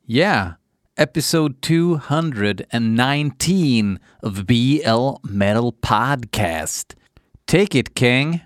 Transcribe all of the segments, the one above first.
Yeah, episode 219 of BL Metal Podcast. Take it, King.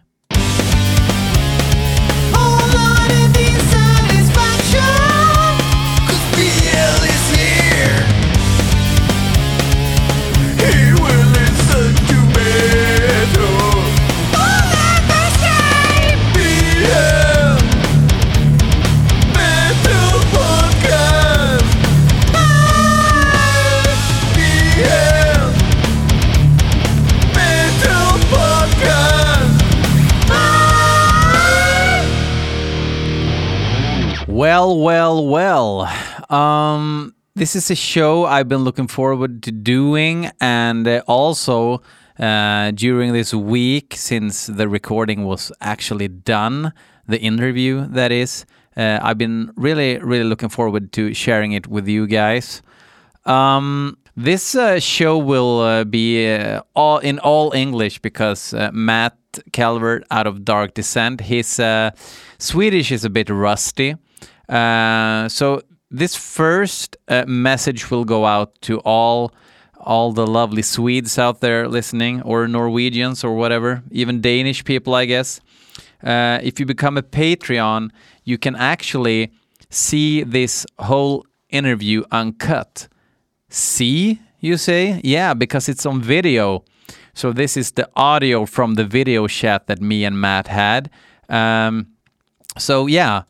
Well. This is a show I've been looking forward to doing, and also during this week, since the recording was actually done, the interview that is, I've been really looking forward to sharing it with you guys. This show will be in all English because Matt Calvert out of Dark Descent, his Swedish is a bit rusty. So this first message will go out to all the lovely Swedes out there listening, or Norwegians or whatever, even Danish people, I guess. If you become a Patreon, you can actually see this whole interview uncut. See, you say? Yeah, because it's on video. So this is the audio from the video chat that me and Matt had. So yeah.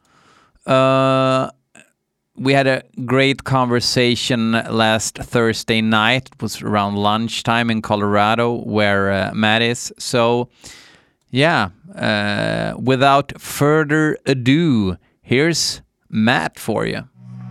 We had a great conversation last Thursday night. It was around lunchtime in Colorado, where Matt is. So, yeah, without further ado, here's Matt for you.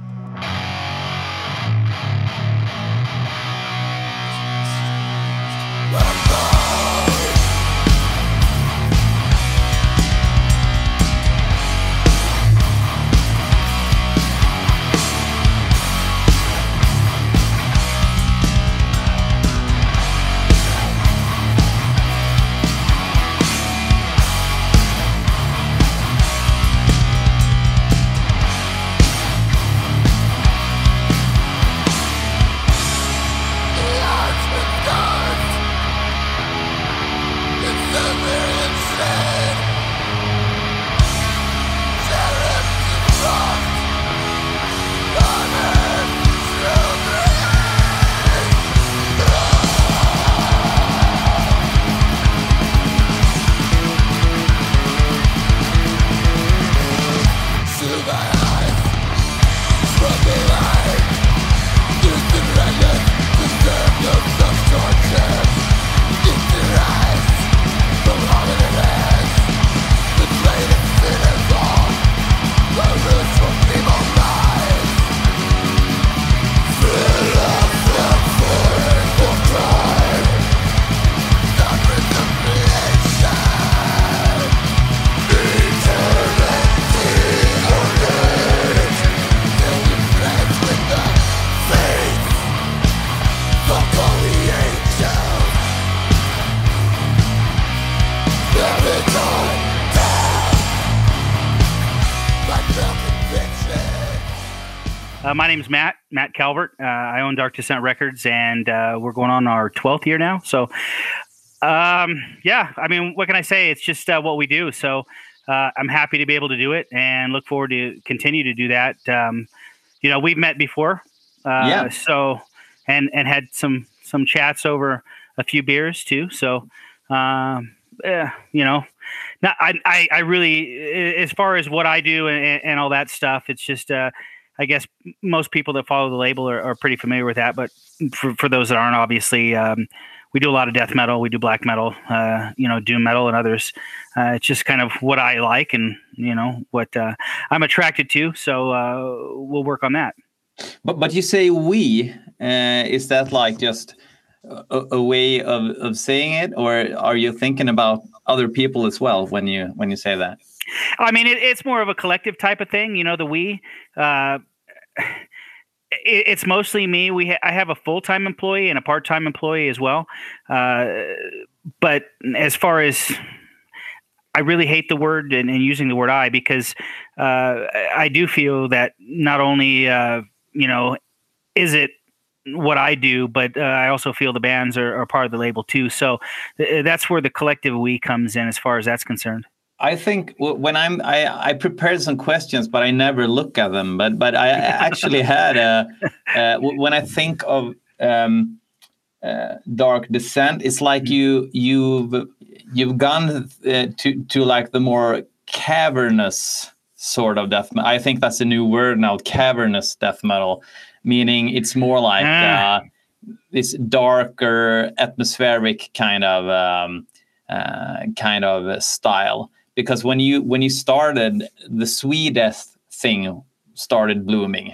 My name is Matt Calvert. I own Dark Descent Records, and we're going on our 12th year now. So, yeah, I mean, what can I say? It's just what we do. So I'm happy to be able to do it and look forward to continue to do that. We've met before. So, and had some chats over a few beers too. So, now I really, as far as what I do and all that stuff, it's just, I guess most people that follow the label are pretty familiar with that, but for those that aren't, obviously, we do a lot of death metal, we do black metal, doom metal and others. It's just kind of what I like and, what I'm attracted to. So we'll work on that. But you say we, is that like just a way of saying it, or are you thinking about other people as well when you say that? I mean, it's more of a collective type of thing, the we. It's mostly me. I have a full-time employee and a part-time employee as well. But as far as, I really hate the word and using the word I, because I do feel that not only is it what I do, but I also feel the bands are part of the label too. So that's where the collective we comes in as far as that's concerned. I think when I prepared some questions, but I never look at them. But I actually had when I think of Dark Descent, it's like you've gone to like the more cavernous sort of death metal. I think that's a new word now, cavernous death metal, meaning it's more like this darker, atmospheric kind of style. Because when you started, the Swedish thing started blooming,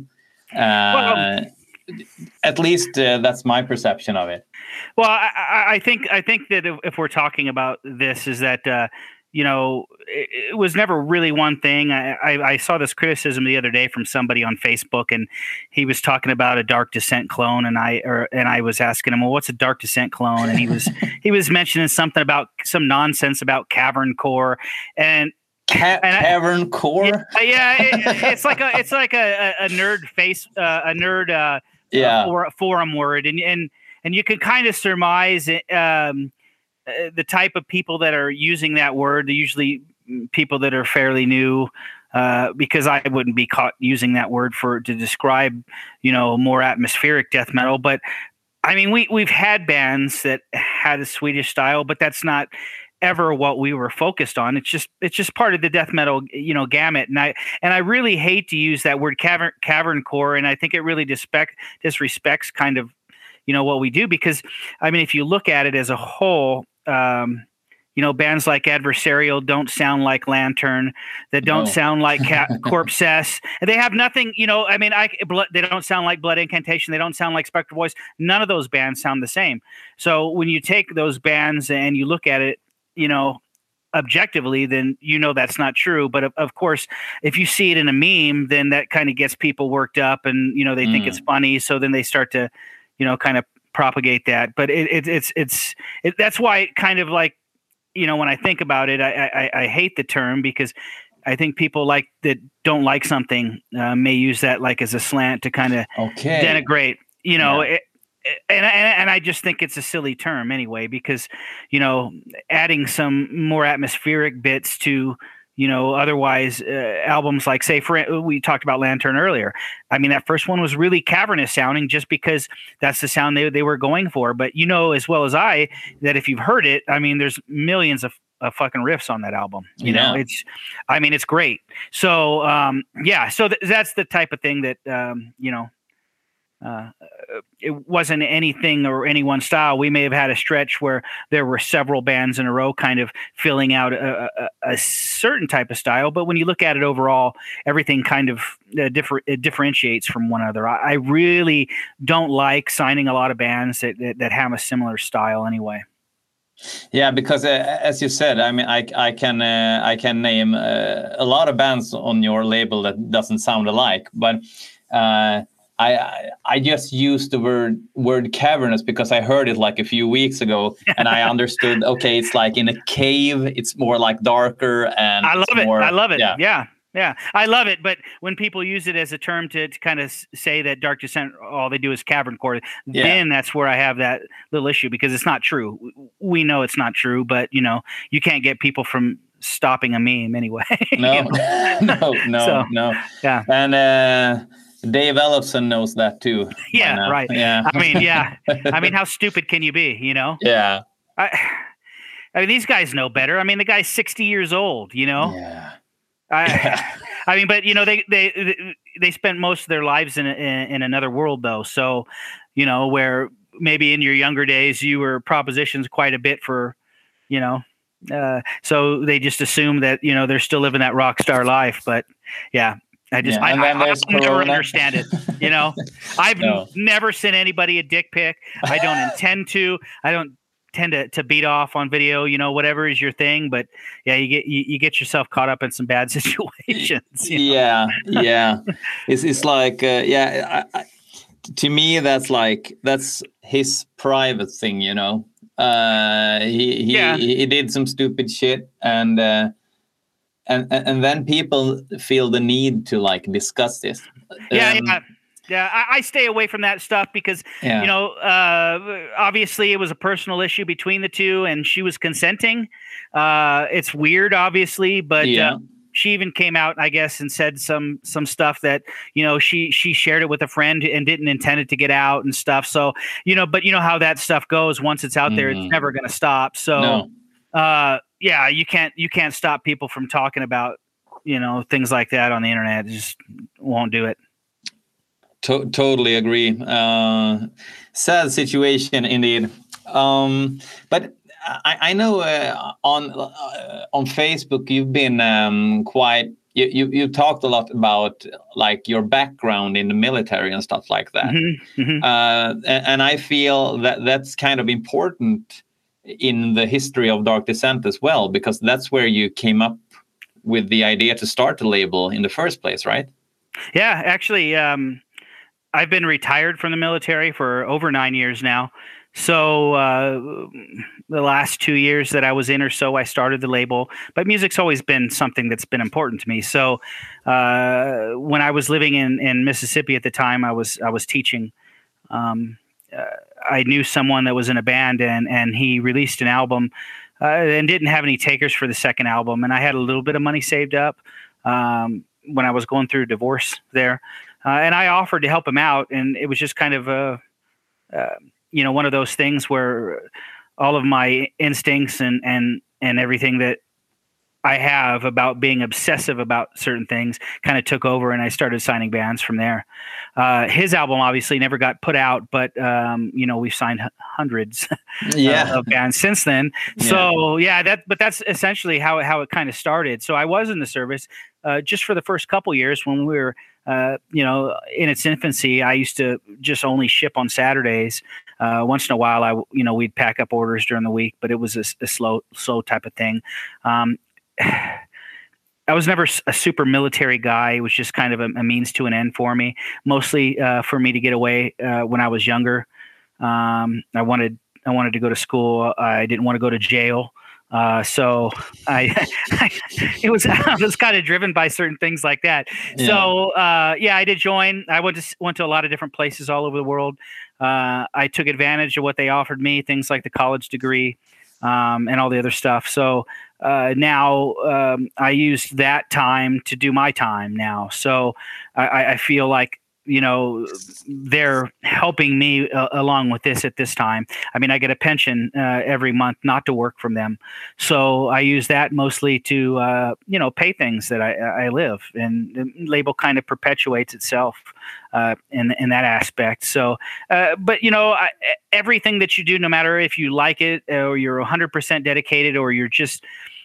at least that's my perception of it. Well, I think that if we're talking about this, is that it was never really one thing. I saw this criticism the other day from somebody on Facebook, and he was talking about a Dark Descent clone, and I was asking him, well, what's a Dark Descent clone? And he was mentioning something about some nonsense about cavern core and cavern core. Yeah, it's like a nerd a nerd forum word, and you can kind of surmise the type of people that are using that word. They're usually people that are fairly new, because I wouldn't be caught using that word to describe, more atmospheric death metal. But I mean, we've had bands that had a Swedish style, but that's not ever what we were focused on. It's just part of the death metal, gamut. And I really hate to use that word cavern core, and I think it really disrespects kind of, what we do, because I mean, if you look at it as a whole, bands like Adversarial don't sound like Lantern, that don't sound like Corpsess. They have nothing, they don't sound like Blood Incantation. They don't sound like Spectral Voice. None of those bands sound the same. So when you take those bands and you look at it, objectively, then that's not true. But of course, if you see it in a meme, then that kind of gets people worked up, and they think it's funny. So then they start to, kind of propagate that. But it's that's why it kind of like, when I think about it, I hate the term, because I think people that don't like something may use that like as a slant to kind of denigrate, and I just think it's a silly term anyway, because, adding some more atmospheric bits to, otherwise albums like, say, we talked about Lantern earlier. I mean, that first one was really cavernous sounding just because that's the sound they were going for. But as well as I, that if you've heard it, I mean, there's millions of fucking riffs on that album. It's great. So, so that's the type of thing that, it wasn't anything or any one style. We may have had a stretch where there were several bands in a row kind of filling out a certain type of style, but when you look at it overall, everything kind of differentiates from one another. I really don't like signing a lot of bands that have a similar style anyway. Yeah, because as you said, I mean, I can name a lot of bands on your label that doesn't sound alike, but I just used the word cavernous because I heard it like a few weeks ago, and I understood. Okay, it's like in a cave. It's more like darker, and I love it. Yeah, I love it. But when people use it as a term to kind of say that Dark Descent, all they do is cavern core, then that's where I have that little issue, because it's not true. We know it's not true, but you can't get people from stopping a meme anyway. No. Yeah, and. Dave Ellefson knows that too. Yeah, right. Yeah. I mean, how stupid can you be? Yeah. I mean, these guys know better. I mean, the guy's 60 years old. Yeah. I mean, but they spent most of their lives in another world, though. So, where maybe in your younger days you were propositions quite a bit for, so they just assume that they're still living that rock star life. But yeah. I never understand it. I've never sent anybody a dick pic. I don't intend to. I don't tend to beat off on video. Whatever is your thing. But yeah, you get yourself caught up in some bad situations. Yeah. It's like to me that's his private thing. He did some stupid shit, and then people feel the need to like discuss this. Yeah, I stay away from that stuff because, obviously it was a personal issue between the two and she was consenting. It's weird, obviously, but she even came out, I guess, and said some stuff that, she shared it with a friend and didn't intend it to get out and stuff. So, but you know how that stuff goes. Once it's out there, it's never going to stop. So, you can't stop people from talking about, things like that on the internet. It just won't do it. Totally agree. Sad situation indeed. But I know on Facebook you've been quite. You talked a lot about like your background in the military and stuff like that. And I feel that that's kind of important in the history of Dark Descent as well, because that's where you came up with the idea to start the label in the first place, right? Yeah, actually. I've been retired from the military for over 9 years now. So the last 2 years that I was in or so, I started the label. But music's always been something that's been important to me. So when I was living in Mississippi at the time, I was teaching. I knew someone that was in a band, and he released an album and didn't have any takers for the second album. And I had a little bit of money saved up when I was going through a divorce there. And I offered to help him out, and it was just kind of one of those things where all of my instincts and everything that I have about being obsessive about certain things kind of took over, and I started signing bands from there. His album obviously never got put out, but we've signed hundreds of bands since then. Yeah. So but that's essentially how it kind of started. So I was in the service just for the first couple years when we were in its infancy. I used to just only ship on Saturdays. Once in a while, we'd pack up orders during the week, but it was a slow type of thing. I was never a super military guy. It was just kind of a means to an end for me, mostly for me to get away when I was younger. I wanted to go to school. I didn't want to go to jail. So I was kind of driven by certain things like that. Yeah. So I did join. I went to a lot of different places all over the world. I took advantage of what they offered me, things like the college degree and all the other stuff. So now I used that time to do my time now. So I feel like they're helping me along with this at this time. I mean, I get a pension every month not to work from them. So I use that mostly to, pay things that I live, and the label kind of perpetuates itself in that aspect. So, but everything that you do, no matter if you like it or you're 100% dedicated or you're just,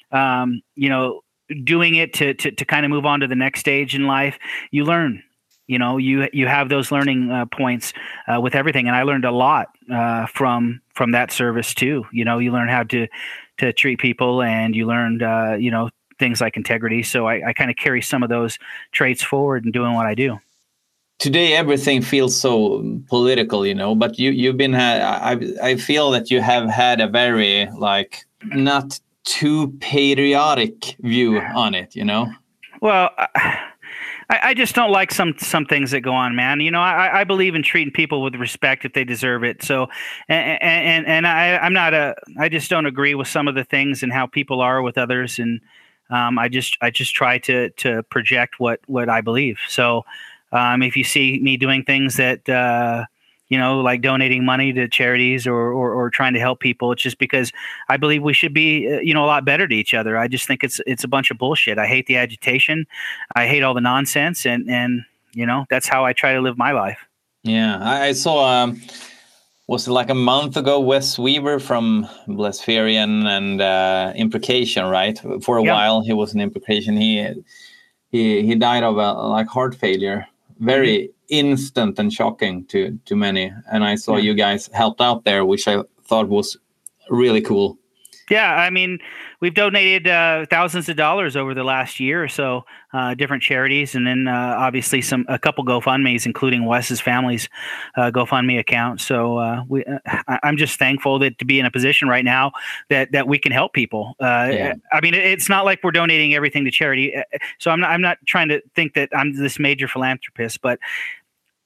doing it to kind of move on to the next stage in life, you learn. You have those learning points with everything, and I learned a lot from that service too. You learn how to treat people, and you learned things like integrity. So I kind of carry some of those traits forward in doing what I do. Today everything feels so political, but you've been I feel that you have had a very not too patriotic view on it, Well, I just don't like some things that go on, man. I believe in treating people with respect if they deserve it. So, and I just don't agree with some of the things and how people are with others. And I just try to project what I believe. So, if you see me doing things that, like donating money to charities or trying to help people, it's just because I believe we should be, a lot better to each other. I just think it's a bunch of bullshit. I hate the agitation. I hate all the nonsense. And that's how I try to live my life. Yeah. I saw, was it like a month ago, Wes Weaver from Blaspherian and Imprecation, right? For a while, he was in Imprecation. He died of heart failure. Very instant and shocking to many. And I saw you guys helped out there, which I thought was really cool. Yeah, I mean, we've donated thousands of dollars over the last year or so, different charities, and then obviously a couple GoFundMes, including Wes's family's GoFundMe account. So I'm just thankful to be in a position right now that we can help people. I mean, it's not like we're donating everything to charity. So I'm not trying to think that I'm this major philanthropist, but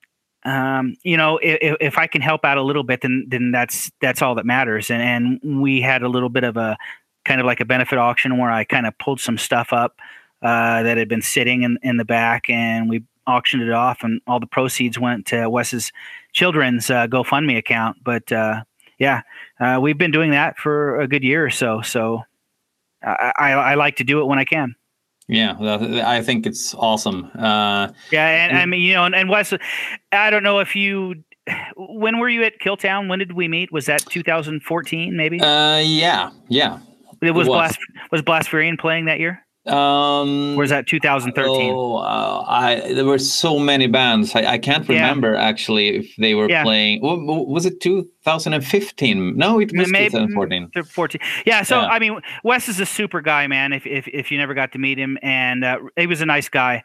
if I can help out a little bit, then that's all that matters. And we had a little bit of a kind of like a benefit auction where I kind of pulled some stuff up that had been sitting in the back, and we auctioned it off, and all the proceeds went to Wes's children's GoFundMe account. But we've been doing that for a good year or so. So I like to do it when I can. Yeah, I think it's awesome. And I mean, and Wes, I don't know if when were you at Killtown? When did we meet? Was that 2014 maybe? Yeah. It was Blaspherian playing that year? Or was that 2013? There were so many bands. I can't remember actually if they were playing. Was it 2015? No, it was 2014. 14. Yeah. So I mean, Wes is a super guy, man. If you never got to meet him, and he was a nice guy.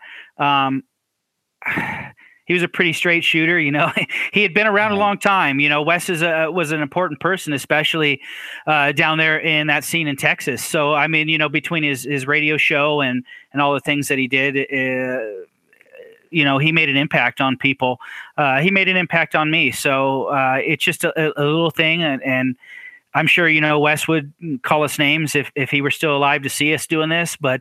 He was a pretty straight shooter, He had been around a long time. Wes was an important person, especially down there in that scene in Texas. So, I mean, between his radio show and all the things that he did, he made an impact on people. He made an impact on me. So it's just a little thing. And I'm sure, Wes would call us names if he were still alive to see us doing this, but,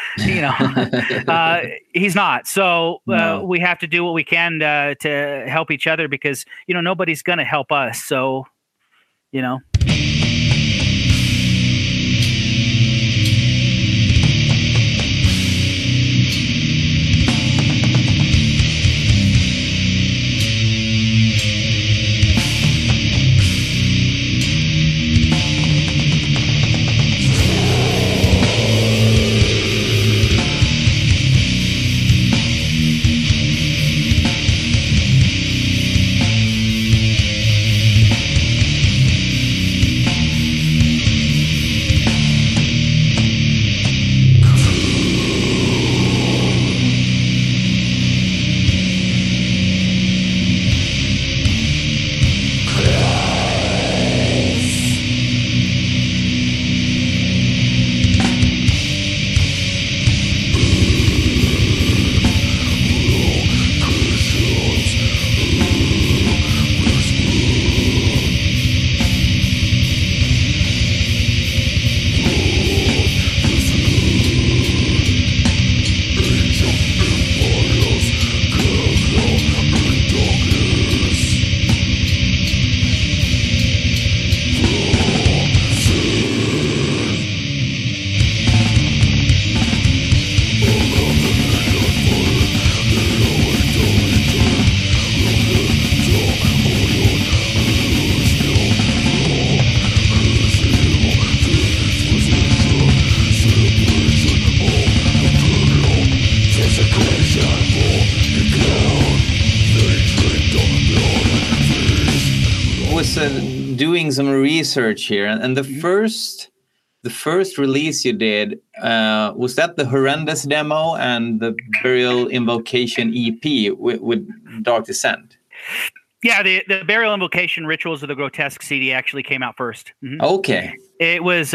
he's not. So we have to do what we can to help each other because, nobody's going to help us. So, doing some research here, and the first release you did was that the Horrendous demo and the Burial Invocation EP with Dark Descent. Yeah, the Burial Invocation Rituals of the Grotesque CD actually came out first. Mm-hmm. Okay, it was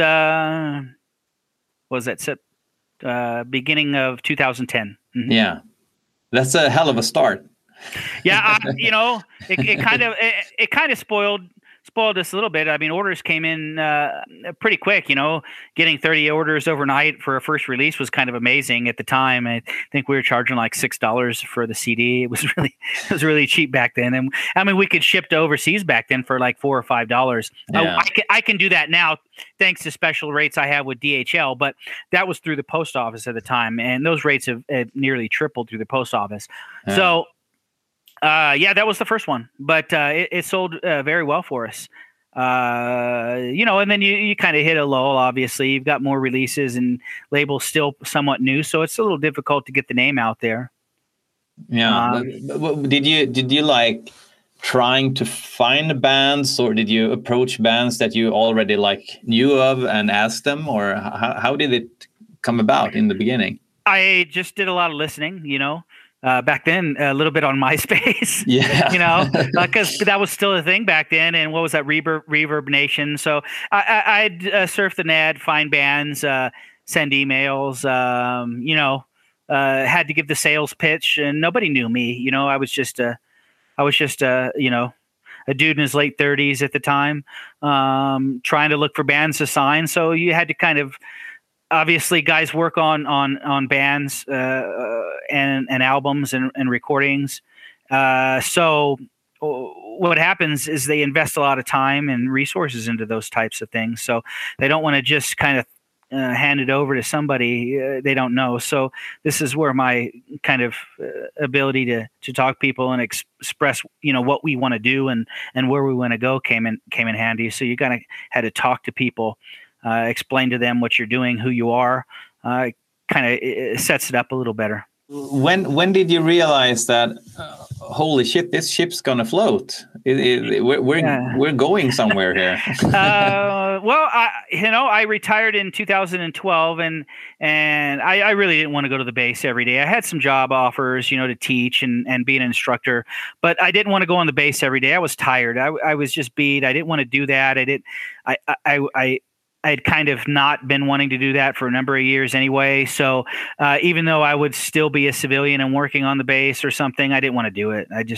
beginning of 2010. Mm-hmm. Yeah, that's a hell of a start. Yeah, it kind of spoiled us a little bit. I mean, orders came in pretty quick. Getting 30 orders overnight for a first release was kind of amazing at the time. I think we were charging like $6 for the CD. It was really cheap back then. And I mean, we could ship to overseas back then for like $4 or $5. Yeah. I can do that now thanks to special rates I have with DHL, but that was through the post office at the time, and those rates have nearly tripled through the post office. Yeah. So. That was the first one, but it sold very well for us. And then you kind of hit a lull. Obviously, you've got more releases and labels still somewhat new, so it's a little difficult to get the name out there. Yeah, but did you like trying to find bands, or did you approach bands that you already like knew of and ask them, or how did it come about in the beginning? I just did a lot of listening, back then, a little bit on MySpace, because that was still a thing back then. And what was that, Reverb Nation? So I'd surf the net, find bands, send emails, had to give the sales pitch, and nobody knew me. I was just a I was just a dude in his late 30s at the time, trying to look for bands to sign. So you had to kind of, obviously, guys work on bands and albums and recordings. So what happens is they invest a lot of time and resources into those types of things. So they don't want to just kind of hand it over to somebody they don't know. So this is where my kind of ability to talk people and express, what we want to do and where we want to go came in handy. So you kind of had to talk to people, explain to them what you're doing, who you are. It sets it up a little better. When did you realize that? Holy shit! This ship's gonna float. We're going somewhere here. Well, I retired in 2012, and I really didn't want to go to the base every day. I had some job offers, to teach and be an instructor, but I didn't want to go on the base every day. I was tired. I was just beat. I didn't want to do that. I had kind of not been wanting to do that for a number of years anyway. So even though I would still be a civilian and working on the base or something, I didn't want to do it. I've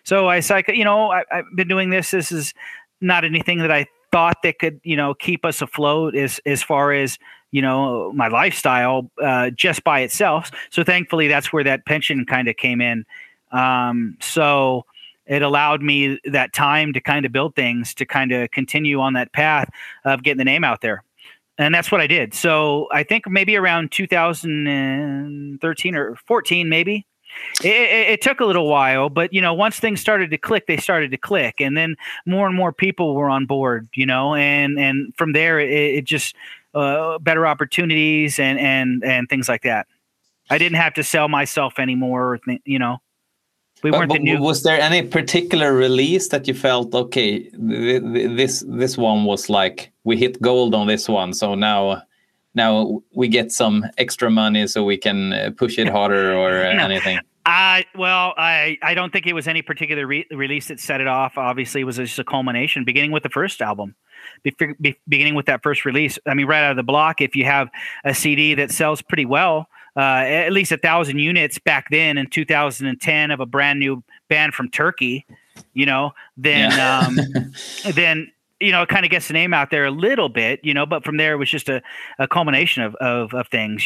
been doing this. This is not anything that I thought that could, keep us afloat as far as, my lifestyle just by itself. So thankfully, that's where that pension kind of came in. So it allowed me that time to kind of build things, to kind of continue on that path of getting the name out there. And that's what I did. So I think maybe around 2013 or 14, maybe. It took a little while, but, once things started to click, they started to click. And then more and more people were on board, and from there, it just better opportunities and things like that. I didn't have to sell myself anymore, We weren't the new. Was there any particular release that you felt, okay, this one was like, we hit gold on this one, so now we get some extra money so we can push it harder or anything? I don't think it was any particular release that set it off. Obviously, it was just a culmination, beginning with the first album, beginning with that first release. I mean, right out of the block, if you have a CD that sells pretty well, at least 1,000 units back then in 2010 of a brand new band from Turkey, then it kind of gets the name out there a little bit, but from there it was just a culmination of things.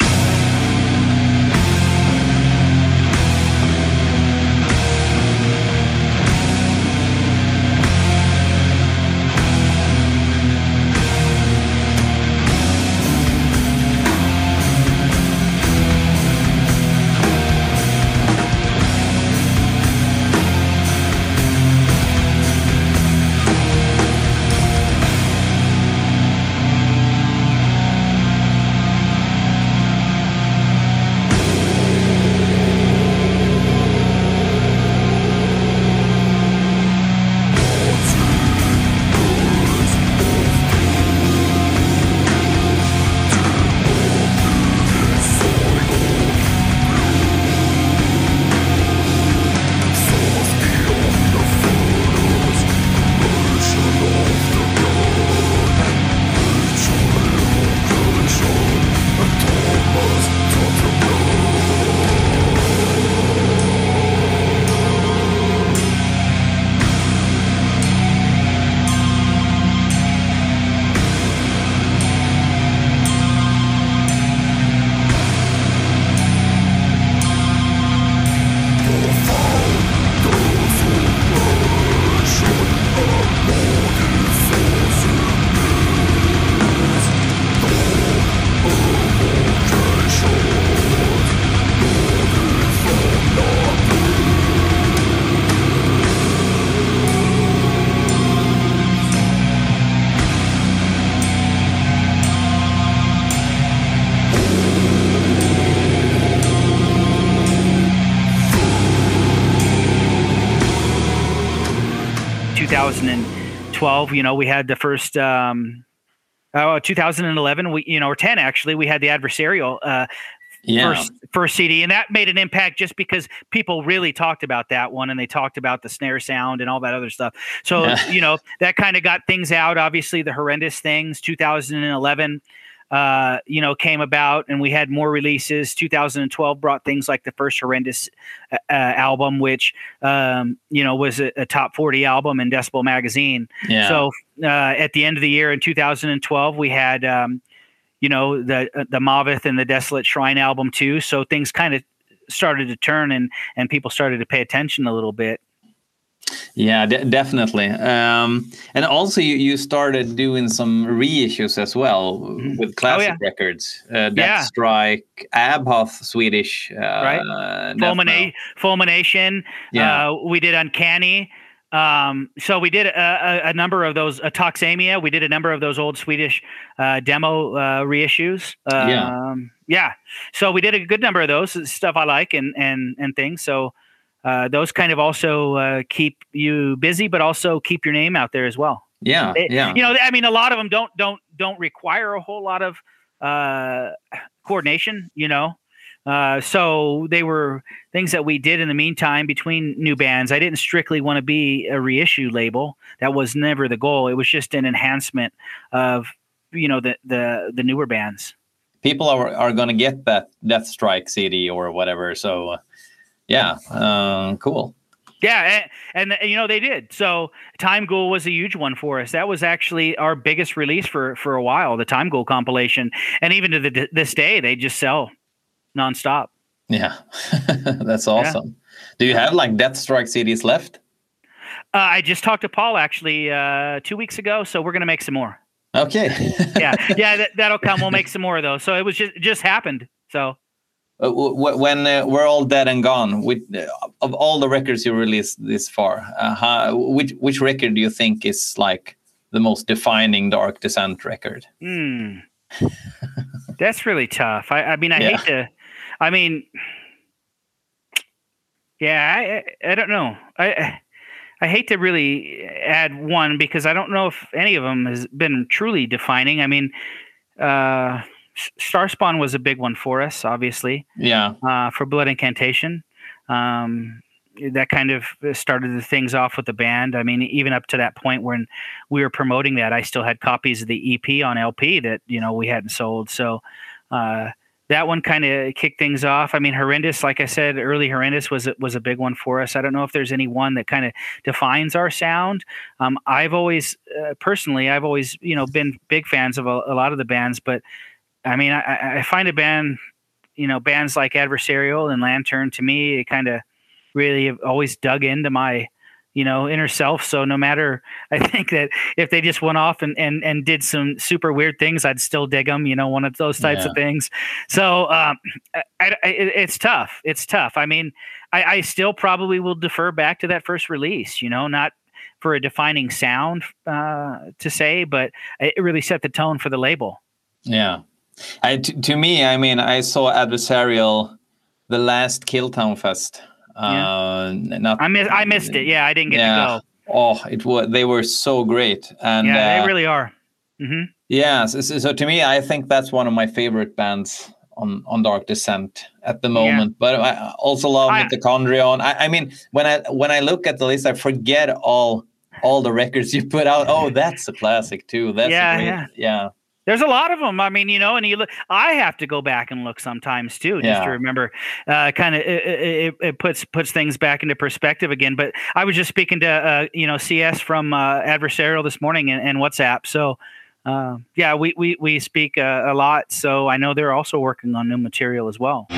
2012, we had the first 2011, or 10 actually, we had the Adversarial first CD, and that made an impact just because people really talked about that one, and they talked about the snare sound and all that other stuff. So that kind of got things out. Obviously, the Horrendous Things, 2011. came about, and we had more releases. 2012 brought things like the first Horrendous album, which was a top 40 album in Decibel magazine. Yeah. So at the end of the year in 2012, we had the Maveth and the Desolate Shrine album too. So things kind of started to turn, and people started to pay attention a little bit. Yeah, definitely. And also you started doing some reissues as well with classic records. Death Strike, Abhoth, Swedish. Right. Fulmination. Yeah. We did Uncanny. So we did a number of those. Toxemia. We did a number of those old Swedish demo reissues. So we did a good number of those. Stuff I like and things. So those kind of also keep you busy, but also keep your name out there as well. Yeah. I mean, a lot of them don't require a whole lot of coordination. So they were things that we did in the meantime between new bands. I didn't strictly want to be a reissue label. That was never the goal. It was just an enhancement of, the newer bands. People are going to get that Death Strike CD or whatever. So, cool. Yeah, and they did. So Time Ghoul was a huge one for us. That was actually our biggest release for a while, the Time Ghoul compilation. And even to this day, they just sell nonstop. Yeah, that's awesome. Yeah. Do you have like Death Strike CDs left? I just talked to Paul actually 2 weeks ago, so we're gonna make some more. Okay. That'll come. We'll make some more of those. So it was just happened. So when we're all dead and gone, of all the records you released this far, which record do you think is like the most defining Dark Descent record? That's really tough. I hate to. I mean, I don't know. I hate to really add one because I don't know if any of them has been truly defining. I mean, Starspawn was a big one for us, obviously. Yeah. For Blood Incantation. That kind of started the things off with the band. I mean, even up to that point when we were promoting that, I still had copies of the EP on LP that, we hadn't sold. So that one kind of kicked things off. I mean, Horrendous, like I said, early Horrendous was a big one for us. I don't know if there's any one that kind of defines our sound. I've always, personally, been big fans of a lot of the bands, but I mean, I find a band, bands like Adversarial and Lantern, to me, it kind of really have always dug into my, inner self. So no matter, I think that if they just went off and did some super weird things, I'd still dig them, one of those types of things. So it's tough. It's tough. I mean, I still probably will defer back to that first release, not for a defining sound to say, but it really set the tone for the label. Yeah. To me, I mean, I saw Adversarial the last Killtown Fest. I missed it. Yeah, I didn't get to go. Oh, they were so great, and they really are. Mm-hmm. Yeah, so to me, I think that's one of my favorite bands on Dark Descent at the moment. Yeah. But I also love Mitochondrion. I mean, when I look at the list, I forget all the records you put out. Oh, that's a classic too. That's yeah. There's a lot of them. I mean, and I have to go back and look sometimes too, just to remember. Kind of, it puts things back into perspective again. But I was just speaking to CS from Adversarial this morning and WhatsApp. So we speak a lot. So I know they're also working on new material as well.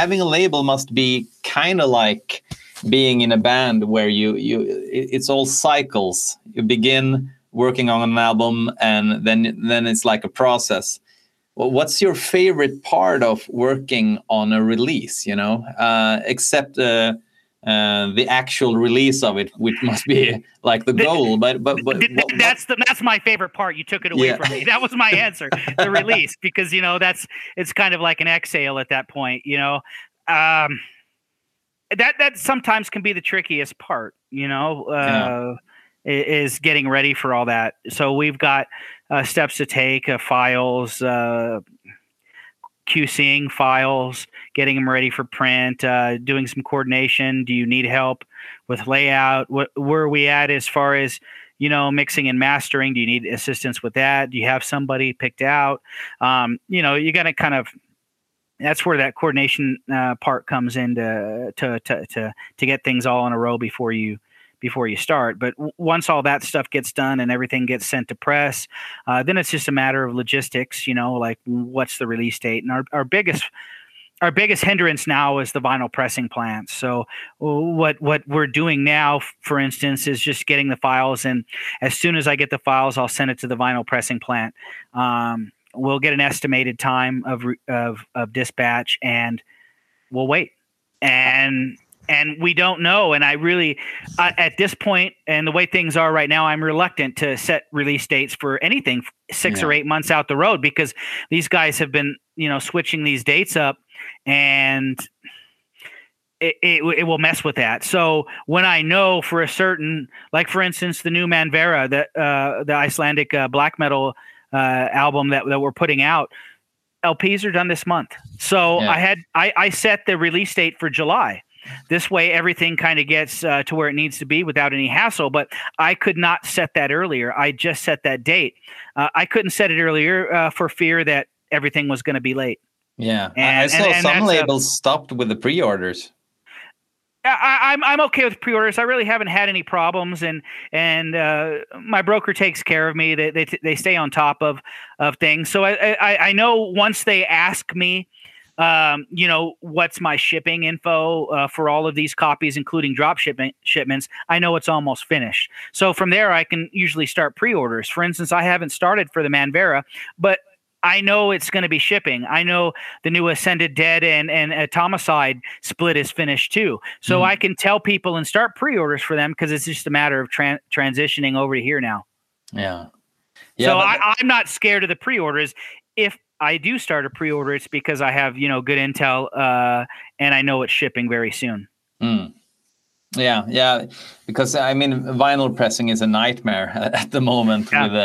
having a label must be kind of like being in a band where it's all cycles. You begin working on an album, and then it's like a process. Well, what's your favorite part of working on a release? Except the actual release of it, which must be like the goal. But that's my favorite part. You took it away from me. That was my answer, the release, because it's kind of like an exhale at that point. That sometimes can be the trickiest part. Is getting ready for all that. So we've got steps to take, files, QCing files, getting them ready for print, doing some coordination. Do you need help with layout? Where are we at as far as, mixing and mastering? Do you need assistance with that? Do you have somebody picked out? You got to kind of, that's where that coordination part comes in to get things all in a row before you start. But once all that stuff gets done and everything gets sent to press, then it's just a matter of logistics, like what's the release date. And our biggest hindrance now is the vinyl pressing plant. So what we're doing now, for instance, is just getting the files. And as soon as I get the files, I'll send it to the vinyl pressing plant. We'll get an estimated time of dispatch, and we'll wait. And we don't know. And I really, at this point, and the way things are right now, I'm reluctant to set release dates for anything 6 or 8 months out the road, because these guys have been, switching these dates up, and it will mess with that. So when I know for a certain, like for instance, the new Manvera, the Icelandic black metal album that we're putting out, LPs are done this month. So I set the release date for July. This way, everything kind of gets to where it needs to be without any hassle. But I could not set that earlier. I just set that date. I couldn't set it earlier for fear that everything was going to be late. Yeah, I saw some labels stopped with the pre-orders. I'm okay with pre-orders. I really haven't had any problems, and my broker takes care of me. They stay on top of things. So I know once they ask me, what's my shipping info for all of these copies, including drop shipments, I know it's almost finished. So from there, I can usually start pre-orders. For instance, I haven't started for the Manvera, but I know it's going to be shipping. I know the new Ascended Dead and Atomicide split is finished too. So I can tell people and start pre-orders for them, because it's just a matter of transitioning over to here now. Yeah. So I'm not scared of the pre-orders. If I do start a pre-order, it's because I have, good intel and I know it's shipping very soon. Yeah, because vinyl pressing is a nightmare at the moment.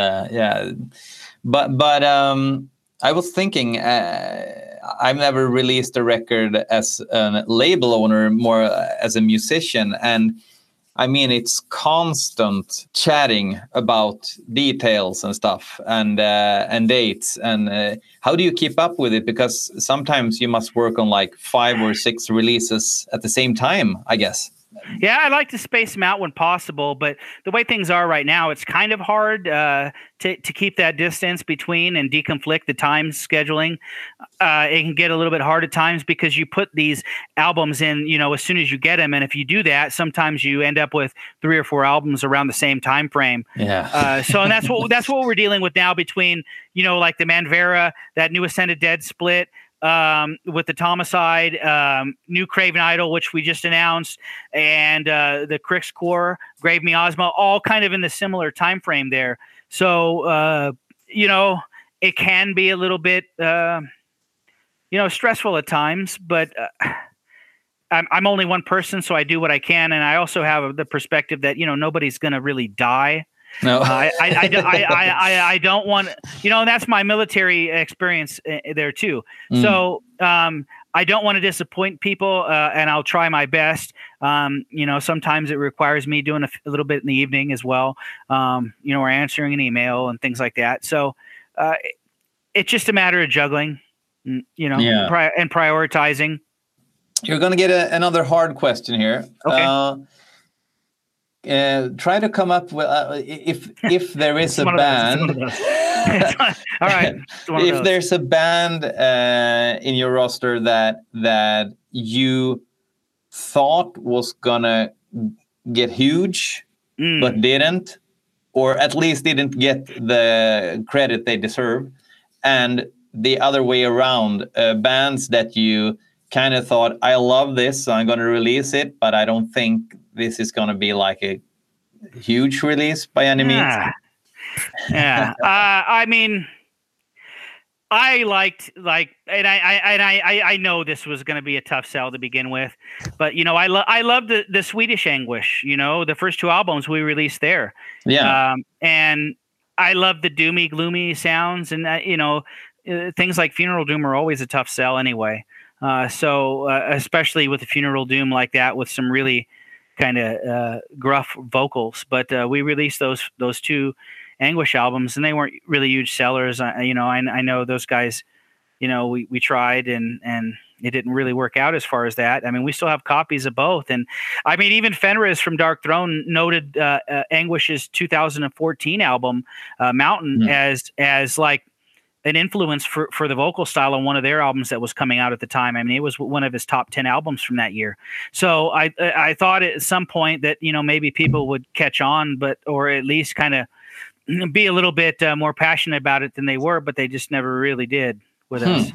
But I was thinking, I've never released a record as a label owner, more as a musician, and it's constant chatting about details and stuff, and dates, and how do you keep up with it? Because sometimes you must work on like 5 or 6 releases at the same time, I guess. Yeah, I like to space them out when possible, but the way things are right now, it's kind of hard to keep that distance between and deconflict the time scheduling. It can get a little bit hard at times because you put these albums in, as soon as you get them, and if you do that, sometimes you end up with 3 or 4 albums around the same time frame. Yeah. And that's what we're dealing with now between, like the Manvera, that new Ascended Dead split. With the Atomicide, new Craven Idol, which we just announced, and the Krigscore, Grave Miasma, all kind of in the similar time frame there. So, it can be a little bit, stressful at times, but I'm only one person, so I do what I can, and I also have the perspective that nobody's going to really die. No, I don't want, and that's my military experience there too. So I don't want to disappoint people, and I'll try my best. Sometimes it requires me doing a little bit in the evening as well, or answering an email and things like that. So it's just a matter of juggling, and prioritizing. You're going to get another hard question here. Okay. Try to come up with if there is a band. All right. If there's a band in your roster that you thought was gonna get huge, but didn't, or at least didn't get the credit they deserve, and the other way around, bands that you kind of thought, I love this, so I'm going to release it, but I don't think this is going to be like a huge release by any means. Yeah. I mean, I liked and I know this was going to be a tough sell to begin with, but you know, I love the Swedish Anguish. You know, the first 2 albums we released there. Yeah. And I love the doomy, gloomy sounds, and you know, things like Funeral Doom are always a tough sell anyway. So especially with the Funeral Doom like that, with some really kind of gruff vocals. But we released those 2 Anguish albums, and they weren't really huge sellers. You know, I know those guys, you know, we tried and it didn't really work out as far as that. I mean, we still have copies of both. And I mean, even Fenriz from Dark Throne noted Anguish's 2014 album, Mountain, as like an influence for the vocal style on one of their albums that was coming out at the time. I mean, it was one of his top 10 albums from that year. So I thought at some point that, you know, maybe people would catch on, or at least kind of be a little bit more passionate about it than they were, but they just never really did with us.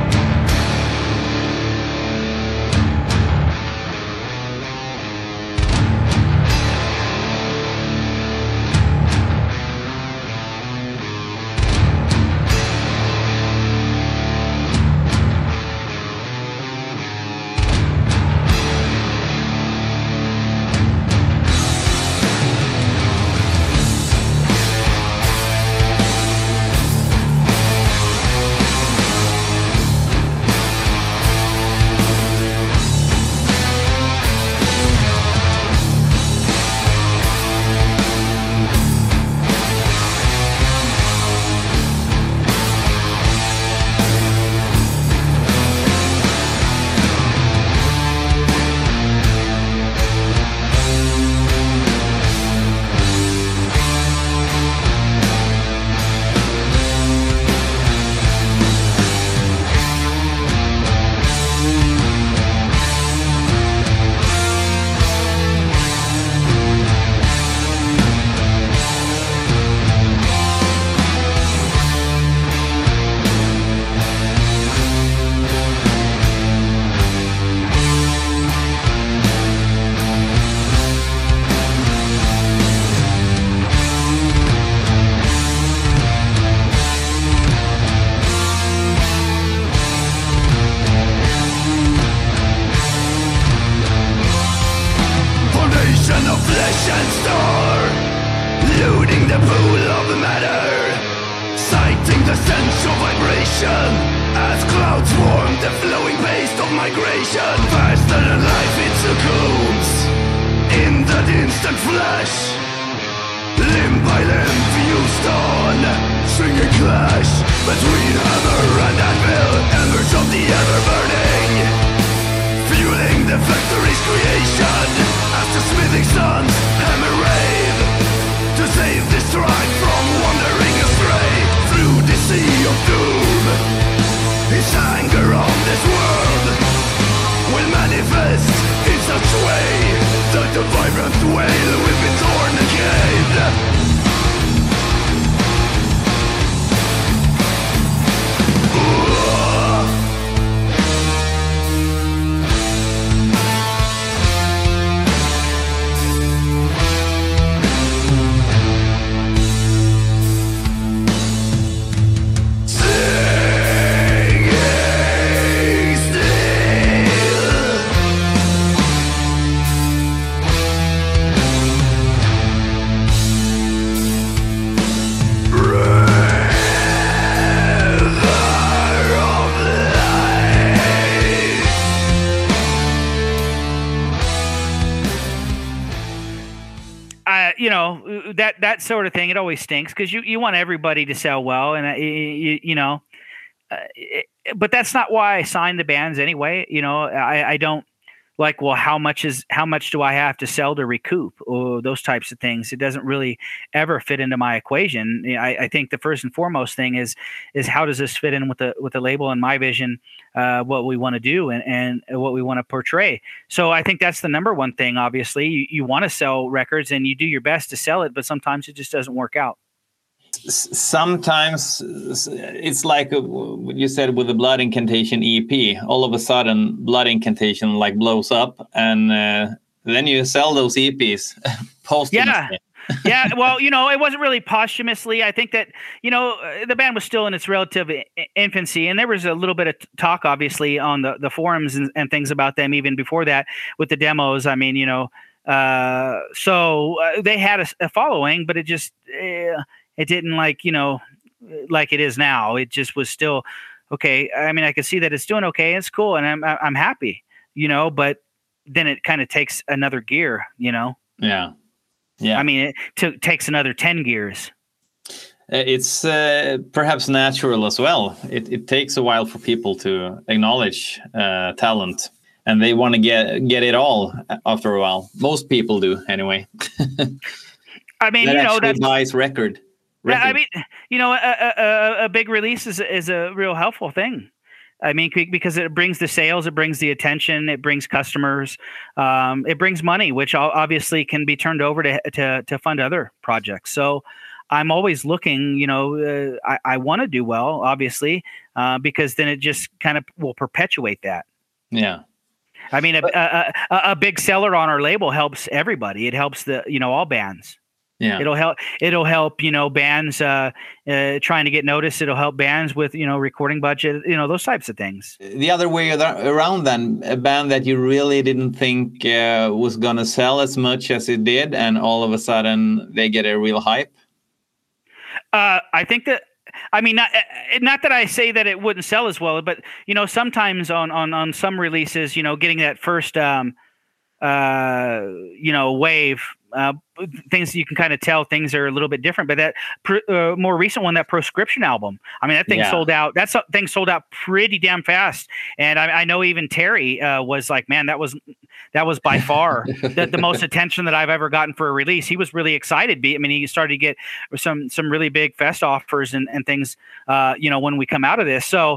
You know, that sort of thing, it always stinks because you want everybody to sell well, and you know, but that's not why I signed the bands anyway. You know, I don't like, well, how much do I have to sell to recoup, or those types of things. It doesn't really ever fit into my equation. I think the first and foremost thing is how does this fit in with the label and my vision, what we want to do and what we want to portray. So I think that's the number one thing. Obviously, you want to sell records and you do your best to sell it, but sometimes it just doesn't work out. Sometimes it's like what you said with the Blood Incantation EP. All of a sudden, Blood Incantation like blows up, and then you sell those EPs posthumously. Yeah. Well, it wasn't really posthumously. I think that, the band was still in its relative infancy, and there was a little bit of talk, obviously, on the forums and things about them even before that with the demos. I mean, so they had a following, but it just it didn't like it is now. It just was still okay. I mean, I could see that it's doing okay. It's cool, and I'm happy, but then it kind of takes another gear, Yeah. Yeah. I mean, it takes another 10 gears. It's perhaps natural as well. It takes a while for people to acknowledge talent, and they want to get it all after a while. Most people do, anyway. I mean, that buys record. I mean, a big release is a real helpful thing. I mean, because it brings the sales, it brings the attention, it brings customers, it brings money, which obviously can be turned over to fund other projects. So I'm always looking, I want to do well, obviously, because then it just kind of will perpetuate that. Yeah. I mean, a big seller on our label helps everybody. It helps all bands. Yeah. It'll help, bands trying to get noticed. It'll help bands with, recording budget, those types of things. The other way around then, a band that you really didn't think was going to sell as much as it did, and all of a sudden they get a real hype. I think that, I mean, not that I say that it wouldn't sell as well, but, sometimes on some releases, getting that first, wave, things you can kind of tell things are a little bit different. But that more recent one, that Proscription album, I mean, that thing sold out. That thing sold out pretty damn fast. And I know even Terry was like, man, that was by far the most attention that I've ever gotten for a release. He was really excited. I mean, he started to get some really big fest offers and things, when we come out of this. So,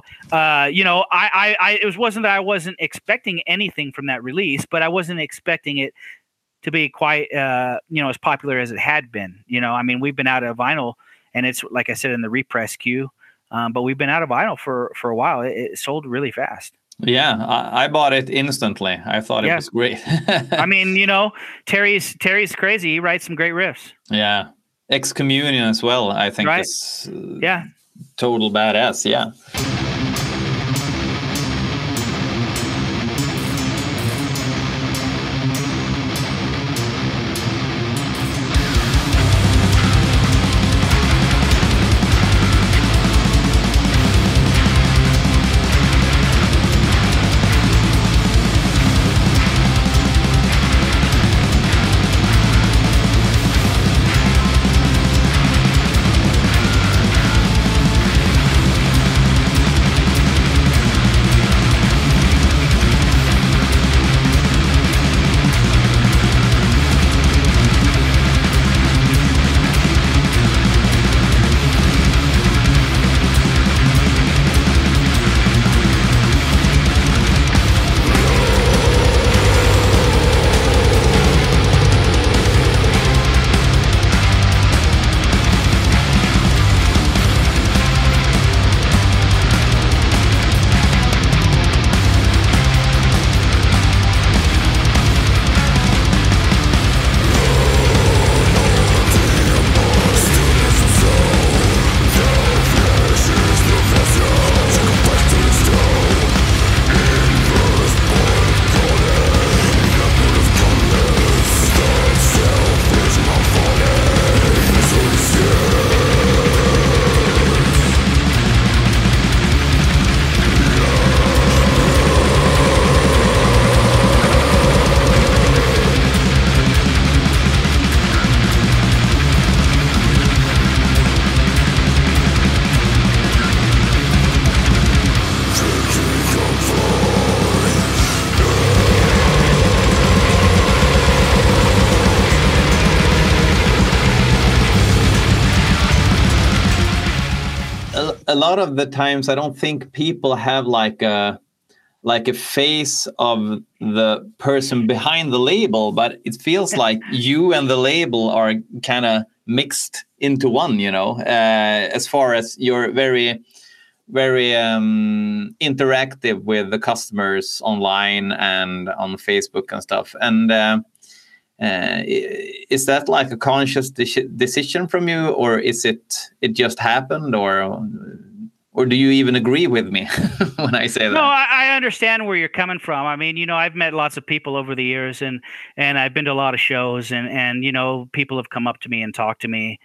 it wasn't that I wasn't expecting anything from that release, but I wasn't expecting it to be quite, as popular as it had been. I mean, we've been out of vinyl, and it's, like I said, in the repress queue, but we've been out of vinyl for a while. It sold really fast. Yeah, I bought it instantly. I thought it was great. I mean, Terry's crazy. He writes some great riffs. Yeah. Excommunion as well, I think, is total badass. Yeah. a lot of the times I don't think people have like a face of the person behind the label, but it feels like you and the label are kind of mixed into one, you know, as far as you're very interactive with the customers online and on Facebook and stuff. And is that like a conscious decision from you, or is it just happened, or do you even agree with me when I say that? No, I understand where you're coming from. I mean, you know, I've met lots of people over the years, and I've been to a lot of shows, and you know, people have come up to me and talked to me.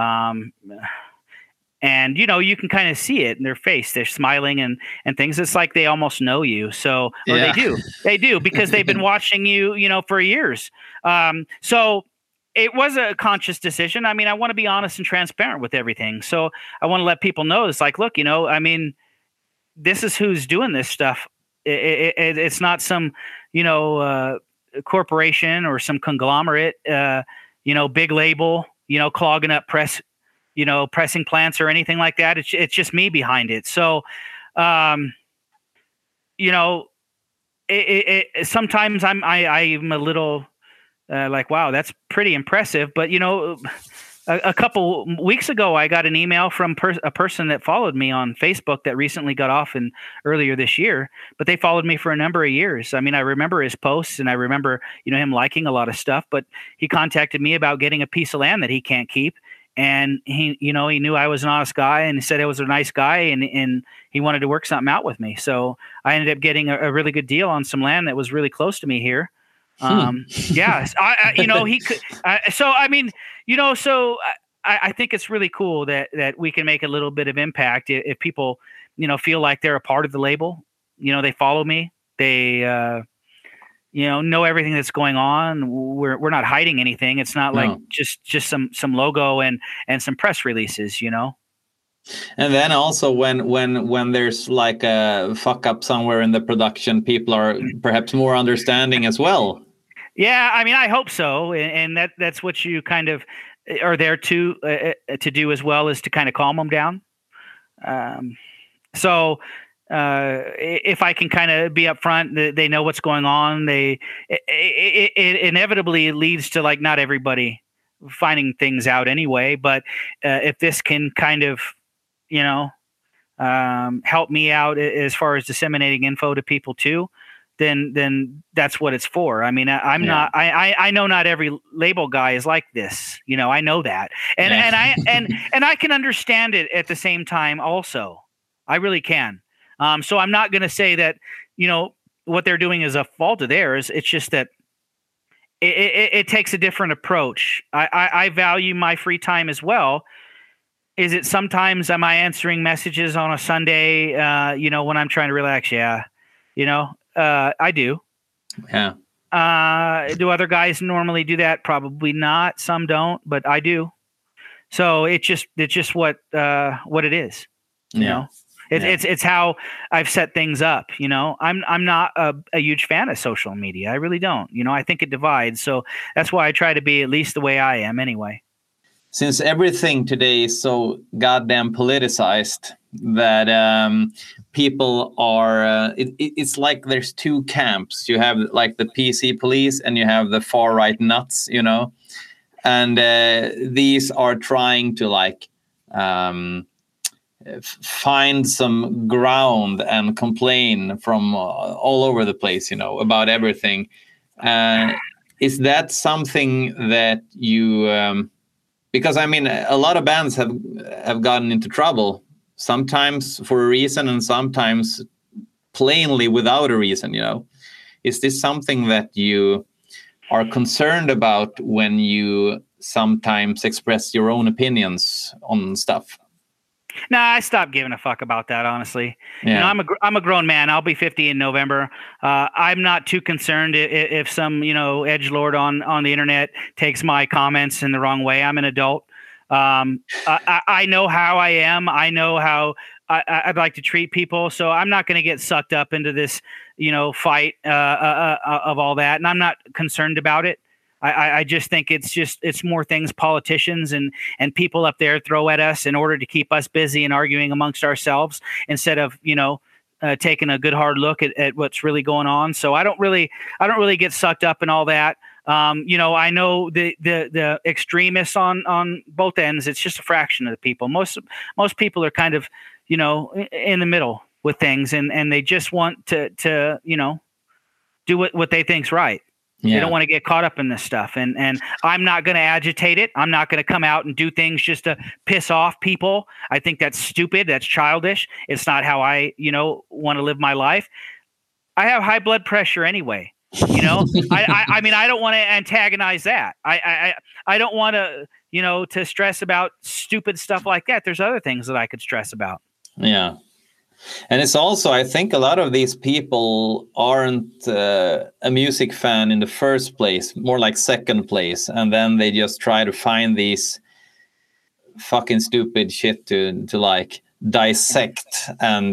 And you know, you can kind of see it in their face. They're smiling and things. It's like they almost know you. So, or Yeah. they do because they've been watching you, you know, for years. So it was a conscious decision. I mean, I want to be honest and transparent with everything. So I want to let people know it's like, look, you know, I mean, this is who's doing this stuff. It's not some, you know, corporation or some conglomerate, you know, big label, you know, clogging up you know, pressing plants or anything like that. It's just me behind it. So, you know, sometimes I'm a little like, wow, that's pretty impressive. But you know, a couple weeks ago, I got an email from a person that followed me on Facebook that recently got off earlier this year, but they followed me for a number of years. I mean, I remember his posts and I remember, you know, him liking a lot of stuff, but he contacted me about getting a piece of land that he can't keep. And he, you know, he knew I was an honest guy and he said I was a nice guy and he wanted to work something out with me. So I ended up getting a really good deal on some land that was really close to me here. Yeah, you know, he could. So, I mean, you know, so I think it's really cool that we can make a little bit of impact if people, you know, feel like they're a part of the label. You know, they follow me. They, you know everything that's going on. We're not hiding anything. It's not like just some logo and some press releases, you know. And then also when there's like a fuck up somewhere in the production, people are perhaps more understanding as well. Yeah, I mean, I hope so, and that's what you kind of are there to do as well, is to kind of calm them down. So if I can kind of be upfront, they know what's going on. It inevitably leads to like not everybody finding things out anyway. But if this can kind of, you know, help me out as far as disseminating info to people too, then that's what it's for. I mean, I know not every label guy is like this. You know, I know that, and I can understand it at the same time. Also, I really can. So I'm not going to say that, you know, what they're doing is a fault of theirs. It's just that it takes a different approach. I value my free time as well. Is it sometimes am I answering messages on a Sunday, you know, when I'm trying to relax? Yeah. You know, I do. Yeah. Do other guys normally do that? Probably not. Some don't, but I do. So it's just what it is, you know? It's how I've set things up. You know, I'm not a huge fan of social media. I really don't. You know, I think it divides. So that's why I try to be at least the way I am anyway. Since everything today is so goddamn politicized that people are, it's like there's two camps. You have like the PC police and you have the far right nuts, you know, and these are trying to like find some ground and complain from all over the place, you know, about everything. Is that something that you because I mean a lot of bands have gotten into trouble, sometimes for a reason and sometimes plainly without a reason, you know. Is this something that you are concerned about when you sometimes express your own opinions on stuff? No, I stopped giving a fuck about that, honestly. Yeah. You know, I'm a grown man. I'll be 50 in November. I'm not too concerned if some, you know, edgelord on the internet takes my comments in the wrong way. I'm an adult. I know how I am. I know how I'd like to treat people. So I'm not going to get sucked up into this, you know, fight of all that. And I'm not concerned about it. I just think it's more things politicians and people up there throw at us in order to keep us busy and arguing amongst ourselves instead of, taking a good hard look at what's really going on. So I don't really get sucked up in all that. I know the extremists on both ends. It's just a fraction of the people. Most people are kind of, in the middle with things, and they just want to do what they think's right. Yeah. They don't want to get caught up in this stuff. And I'm not going to agitate it. I'm not going to come out and do things just to piss off people. I think that's stupid. That's childish. It's not how I, want to live my life. I have high blood pressure anyway. I mean, I don't want to antagonize that. I don't want to, to stress about stupid stuff like that. There's other things that I could stress about. Yeah. And it's also, I think a lot of these people aren't a music fan in the first place, more like second place. And then they just try to find these fucking stupid shit to like dissect and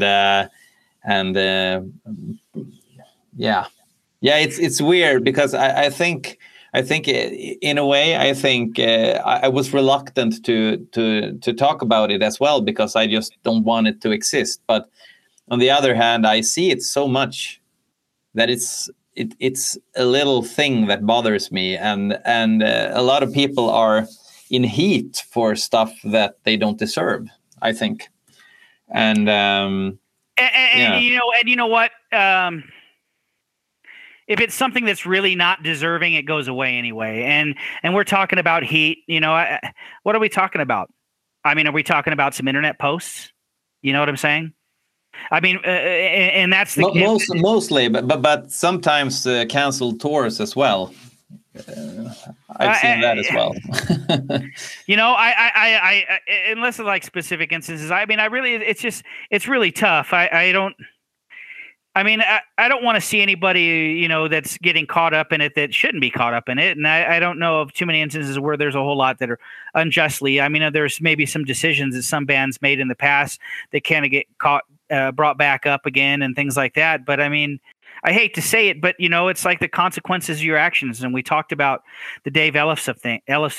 it's weird because I think in a way, I was reluctant to talk about it as well because I just don't want it to exist. But on the other hand, I see it so much that it's a little thing that bothers me, and a lot of people are in heat for stuff that they don't deserve, I think. And you know what? If it's something that's really not deserving, it goes away anyway. And we're talking about heat. What are we talking about? I mean, are we talking about some internet posts? You know what I'm saying? I mean, and that's the mostly, but sometimes canceled tours as well. I've seen that as well. I unless it's like specific instances. I mean, it's really tough. I don't want to see anybody, that's getting caught up in it that shouldn't be caught up in it. And I don't know of too many instances where there's a whole lot that are unjustly. I mean, there's maybe some decisions that some bands made in the past that kind of get brought back up again and things like that. But I mean, I hate to say it, but it's like the consequences of your actions. And we talked about the Dave Ellefson thing.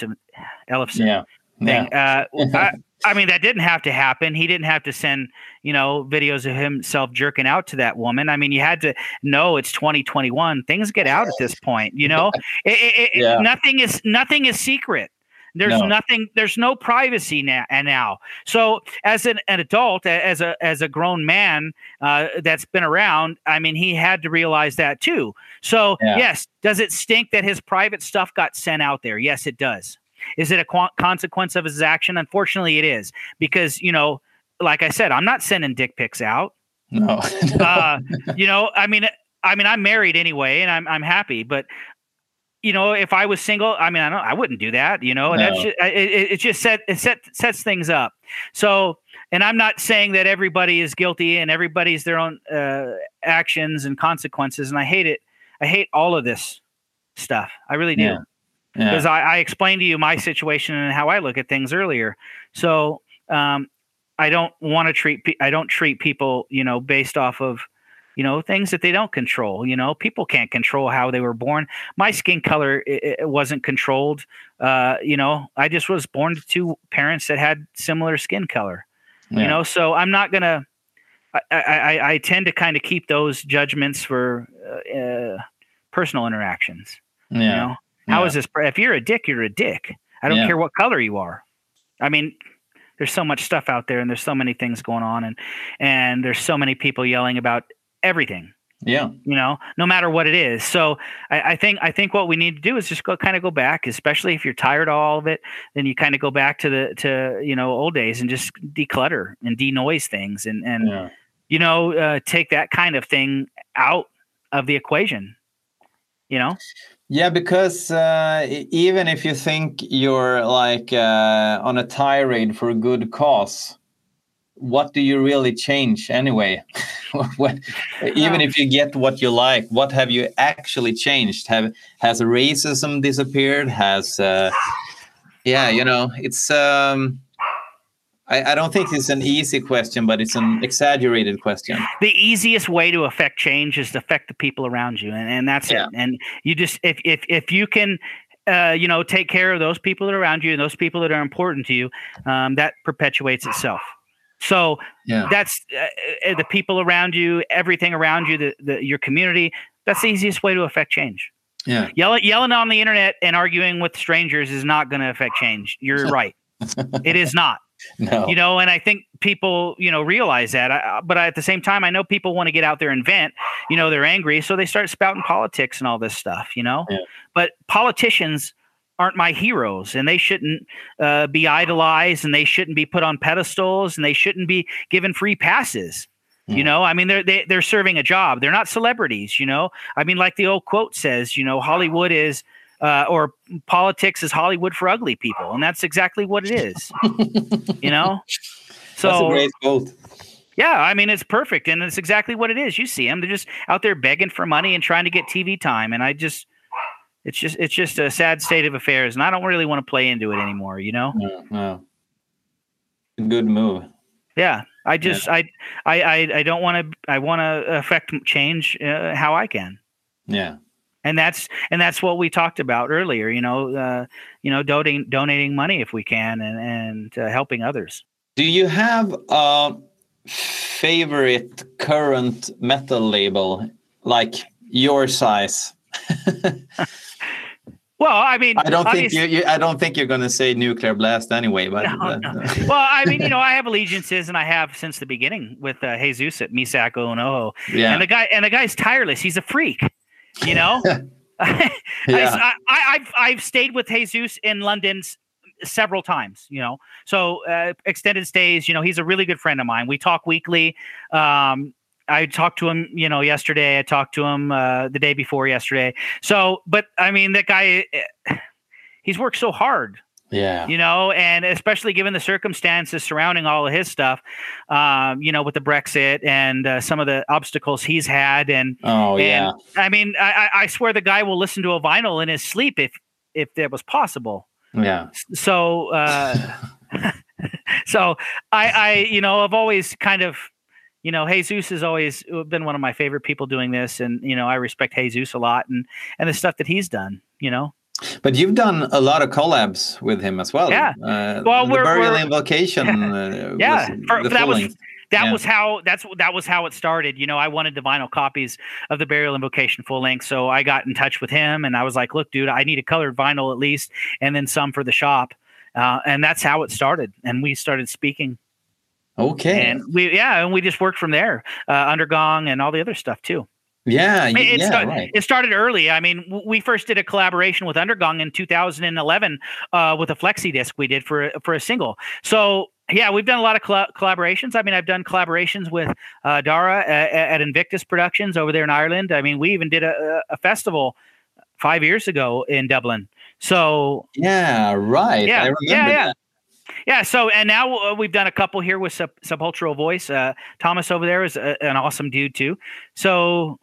Yeah. I mean, that didn't have to happen. He didn't have to send, videos of himself jerking out to that woman. I mean, you had to know it's 2021. Things get out at this point, Yeah. Nothing is secret. There's nothing. There's no privacy now. So as an adult, as a grown man that's been around, I mean, he had to realize that too. So yes, does it stink that his private stuff got sent out there? Yes, it does. Is it a consequence of his action? Unfortunately, it is because, like I said, I'm not sending dick pics out. No. I mean, I'm married anyway, and I'm happy. But if I was single, I mean, I wouldn't do that. And that's just, it just sets things up. So, and I'm not saying that everybody is guilty and everybody's their own actions and consequences. And I hate it. I hate all of this stuff. I really do. Yeah. Because I explained to you my situation and how I look at things earlier. So I don't want to treat people, based off of, things that they don't control. People can't control how they were born. My skin color, it wasn't controlled. I just was born to two parents that had similar skin color. Yeah. So I'm not gonna. I tend to kind of keep those judgments for personal interactions. Yeah. How is this? If you're a dick, you're a dick. I don't care what color you are. I mean, there's so much stuff out there, and there's so many things going on, and there's so many people yelling about everything. Yeah. No matter what it is. So I think what we need to do is just go back, especially if you're tired of all of it, then you kind of go back to old days and just declutter and denoise things and take that kind of thing out of the equation. Yeah, because even if you think you're like on a tirade for a good cause, what do you really change anyway? Even if you get what you like, what have you actually changed? Has racism disappeared? Has it's I don't think it's an easy question, but it's an exaggerated question. The easiest way to affect change is to affect the people around you, and that's it. And you just if you can take care of those people that are around you and those people that are important to you, that perpetuates itself. So that's the people around you, everything around you, your community. That's the easiest way to affect change. Yeah. Yelling on the internet and arguing with strangers is not going to affect change. You're right. It is not. No. And I think people, realize that. But at the same time, I know people want to get out there and vent. They're angry, so they start spouting politics and all this stuff. Yeah. But politicians aren't my heroes, and they shouldn't be idolized, and they shouldn't be put on pedestals, and they shouldn't be given free passes. I mean, they're serving a job. They're not celebrities. I mean, like the old quote says, Hollywood is, or politics is Hollywood for ugly people, and that's exactly what it is. So that's a great quote. Yeah, I mean, it's perfect, and it's exactly what it is. You see them; they're just out there begging for money and trying to get TV time, and it's just a sad state of affairs, and I don't really want to play into it anymore. No. Good move. Yeah, I don't want to. I want to affect change how I can. Yeah, and that's what we talked about earlier. Donating money if we can, and helping others. Do you have a favorite current metal label, like your size? Well, I mean, I don't think you're going to say Nuclear Blast anyway. But no. Well, I mean, I have allegiances, and I have since the beginning with Jesus at Misako and Oho. Yeah. And the guy's tireless. He's a freak. Yeah. I've stayed with Jesus in London several times. So extended stays. He's a really good friend of mine. We talk weekly. I talked to him, yesterday. I talked to him the day before yesterday. So, but I mean, that guy, he's worked so hard. Yeah. And especially given the circumstances surrounding all of his stuff, with the Brexit and some of the obstacles he's had. And I mean, I swear the guy will listen to a vinyl in his sleep if that was possible. Yeah. So, so I've always kind of, Jesus has always been one of my favorite people doing this. And, I respect Jesus a lot and the stuff that he's done, But you've done a lot of collabs with him as well. Yeah. Well, the Burial Invocation. That was how it started. I wanted the vinyl copies of the Burial Invocation full length. So I got in touch with him and I was like, look, dude, I need a colored vinyl at least, and then some for the shop. And that's how it started. And we started speaking. Okay. And we just worked from there, Undergong and all the other stuff too. Yeah. Right. It started early. I mean, we first did a collaboration with Undergong in 2011 with a flexi disc we did for a single. So yeah, we've done a lot of collaborations. I mean, I've done collaborations with Dara at Invictus Productions over there in Ireland. I mean, we even did a festival 5 years ago in Dublin. So yeah, right. Yeah, I remember that. Yeah, so and now we've done a couple here with Sepulchral Voice. Thomas over there is an awesome dude too. So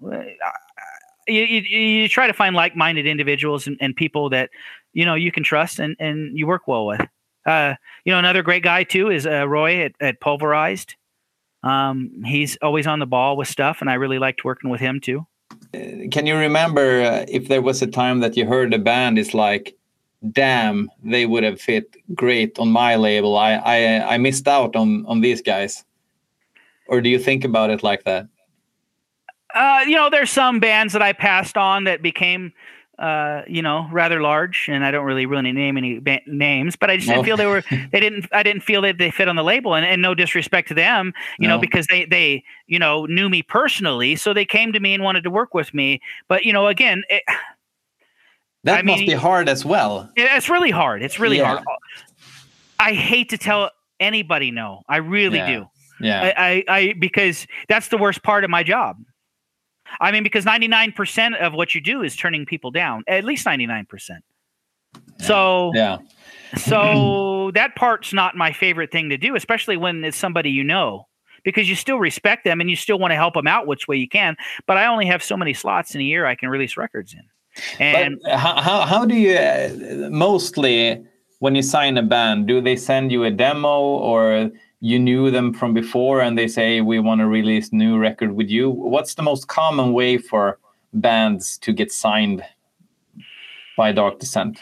you try to find like-minded individuals and people that you can trust and you work well with. Another great guy too is Roy at Pulverized. He's always on the ball with stuff, and I really liked working with him too. Can you remember if there was a time that you heard a band is like, damn, they would have fit great on my label. I missed out on these guys. Or do you think about it like that? There's some bands that I passed on that became, rather large, and I don't really name any names, but I just didn't feel I didn't feel that they fit on the label, and no disrespect to them, because they knew me personally, so they came to me and wanted to work with me. But again, that must be hard as well. It's really hard. It's really hard. I hate to tell anybody no. I really do. Yeah. I because that's the worst part of my job. I mean, because 99% of what you do is turning people down. At least 99%. Yeah. So that part's not my favorite thing to do, especially when it's somebody because you still respect them and you still want to help them out which way you can. But I only have so many slots in a year I can release records in. And but how do you mostly when you sign a band, do they send you a demo or you knew them from before and they say we want to release a new record with you? What's the most common way for bands to get signed? by Dark Descent?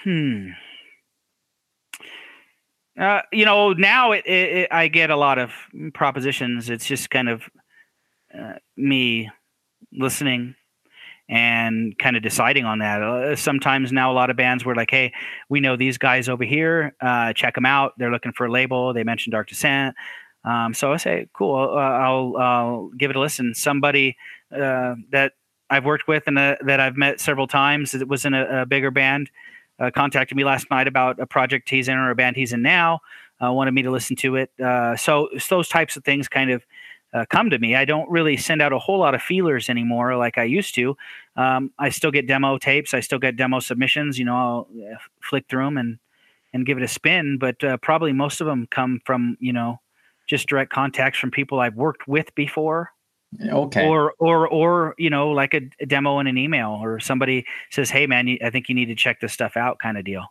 Now I get a lot of propositions. It's just kind of me listening and kind of deciding on that. Sometimes now a lot of bands were like, hey, we know these guys over here. Check them out. They're looking for a label. They mentioned Dark Descent. So I say, cool, I'll give it a listen. Somebody that I've worked with and that I've met several times that was in a bigger band contacted me last night about a project he's in or a band he's in now, wanted me to listen to it. So those types of things kind of come to me. I don't really send out a whole lot of feelers anymore like I used to. I still get demo tapes. I still get demo submissions. I'll flick through them and give it a spin. But probably most of them come from, just direct contacts from people I've worked with before. Okay. Or like a demo in an email, or somebody says, hey man, I think you need to check this stuff out, kind of deal.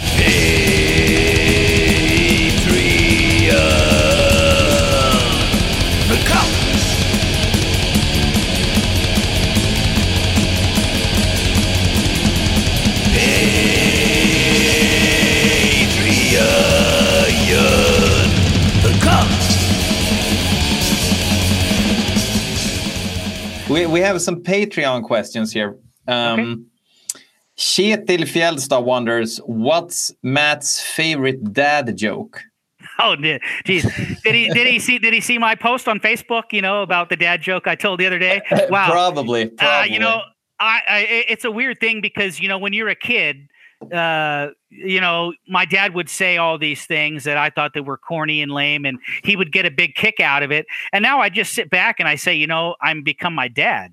We have some Patreon questions here. Okay. Kjetil Fjellstad wonders, what's Matt's favorite dad joke? Oh, geez. Did he see my post on Facebook, about the dad joke I told the other day? Wow. Probably. It's a weird thing because, when you're a kid, my dad would say all these things that I thought that were corny and lame, and he would get a big kick out of it. And now I just sit back and I say, I'm become my dad.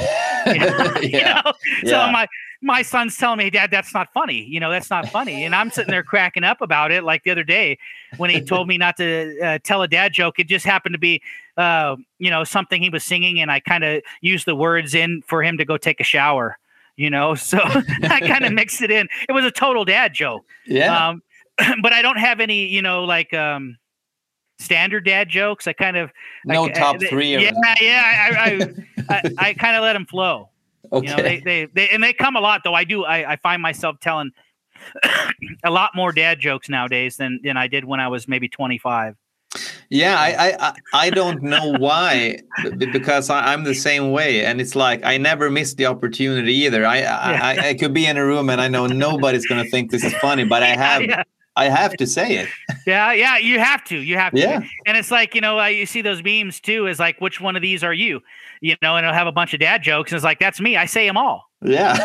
So my son's telling me, Dad, that's not funny. That's not funny. And I'm sitting there cracking up about it. Like the other day when he told me not to tell a dad joke, it just happened to be, something he was singing. And I kind of used the words in for him to go take a shower, so I kind of mixed it in. It was a total dad joke. Yeah. But I don't have any, standard dad jokes. I kind of top three. I kind of let them flow. Okay. They come a lot though. I find myself telling a lot more dad jokes nowadays than I did when I was maybe 25. Yeah, I don't know why, because I'm the same way, and it's like I never miss the opportunity either. I could be in a room and I know nobody's going to think this is funny, but I have to say it. Yeah, you have to. Yeah. And it's like, you see those memes too, is like, which one of these are you? And it'll have a bunch of dad jokes, and it's like, that's me. I say them all. Yeah.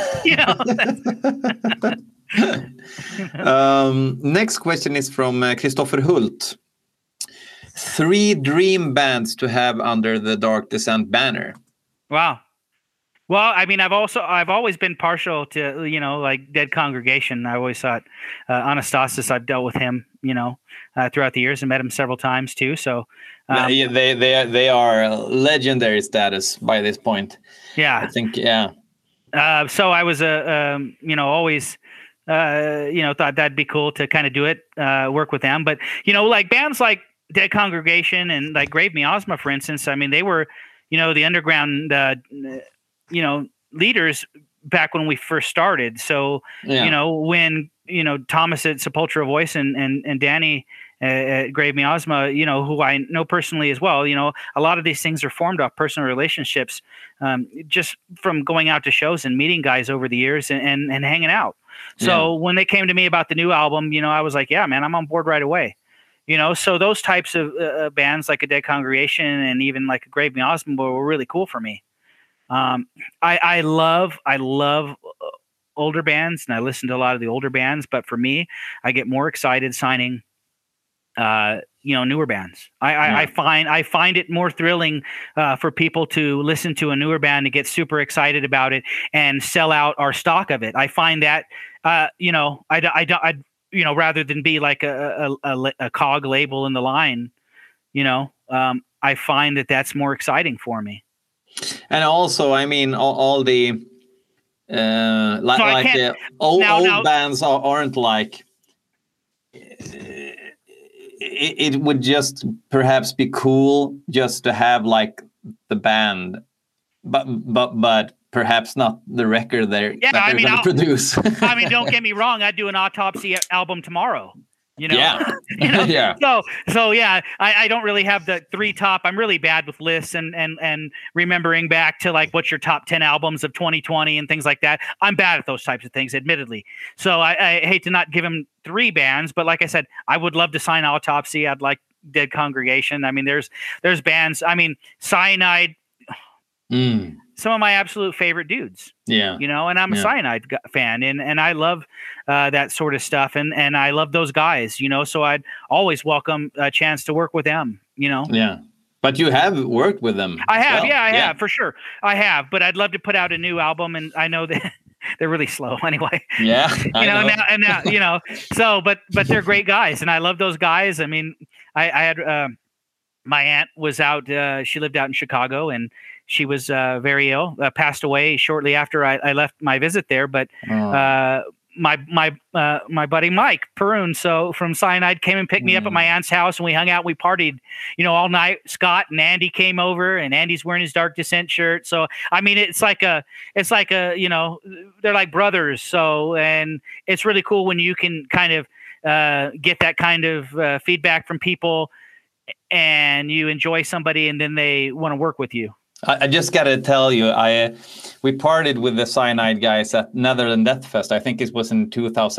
Next question is from Christopher Hult. 3 dream bands to have under the Dark Descent banner. Wow. Well, I mean, I've always been partial to, like Dead Congregation. I always thought Anastasis, I've dealt with him, throughout the years and met him several times too. So they are legendary status by this point. Yeah, I think. Yeah. So I was always thought that'd be cool to kind of do it, work with them. But like bands like Dead Congregation and like Grave Miasma, for instance. I mean, they were the underground leaders back when we first started. So when Thomas at Sepultura Voice and Danny at Grave Miasma, who I know personally as well, a lot of these things are formed off personal relationships, just from going out to shows and meeting guys over the years and hanging out. So when they came to me about the new album, I was like, yeah, man, I'm on board right away. So those types of bands like a Dead Congregation and even like a Grave Miasma were really cool for me. I love older bands, and I listen to a lot of the older bands, but for me, I get more excited signing newer bands. I find it more thrilling for people to listen to a newer band and get super excited about it and sell out our stock of it. I find that rather than be like a cog label in the line, I find that that's more exciting for me. And also, I mean, all the the old bands aren't like. It would just perhaps be cool just to have like the band, but perhaps not the record that they're going to produce. I mean, don't get me wrong. I'd do an Autopsy album tomorrow. Yeah. Yeah. So yeah, I don't really have the 3 top. I'm really bad with lists and remembering back to like what's your top 10 albums of 2020 and things like that. I'm bad at those types of things, admittedly. So I hate to not give him 3 bands, but like I said, I would love to sign Autopsy. I'd like Dead Congregation. I mean, there's bands. I mean, Cyanide. Some of my absolute favorite dudes. Yeah. And I'm a Cyanide fan, and I love that sort of stuff, and I love those guys, so I'd always welcome a chance to work with them, Yeah. But you have worked with them. I have. Well. I have, for sure. I have, but I'd love to put out a new album, and I know that they're really slow anyway. Yeah. Now, so, but they're great guys, and I love those guys. I mean, I had, my aunt was out, she lived out in Chicago, and she was very ill, passed away shortly after I left my visit there. But my buddy Mike Perun, so from Cyanide, came and picked me up at my aunt's house, and we hung out. We partied, all night. Scott and Andy came over, and Andy's wearing his Dark Descent shirt. So I mean, it's like a, they're like brothers. So, and it's really cool when you can kind of get that kind of feedback from people, and you enjoy somebody, and then they want to work with you. I just got to tell you, we partied with the Cyanide guys at Netherland Death Fest. I think it was in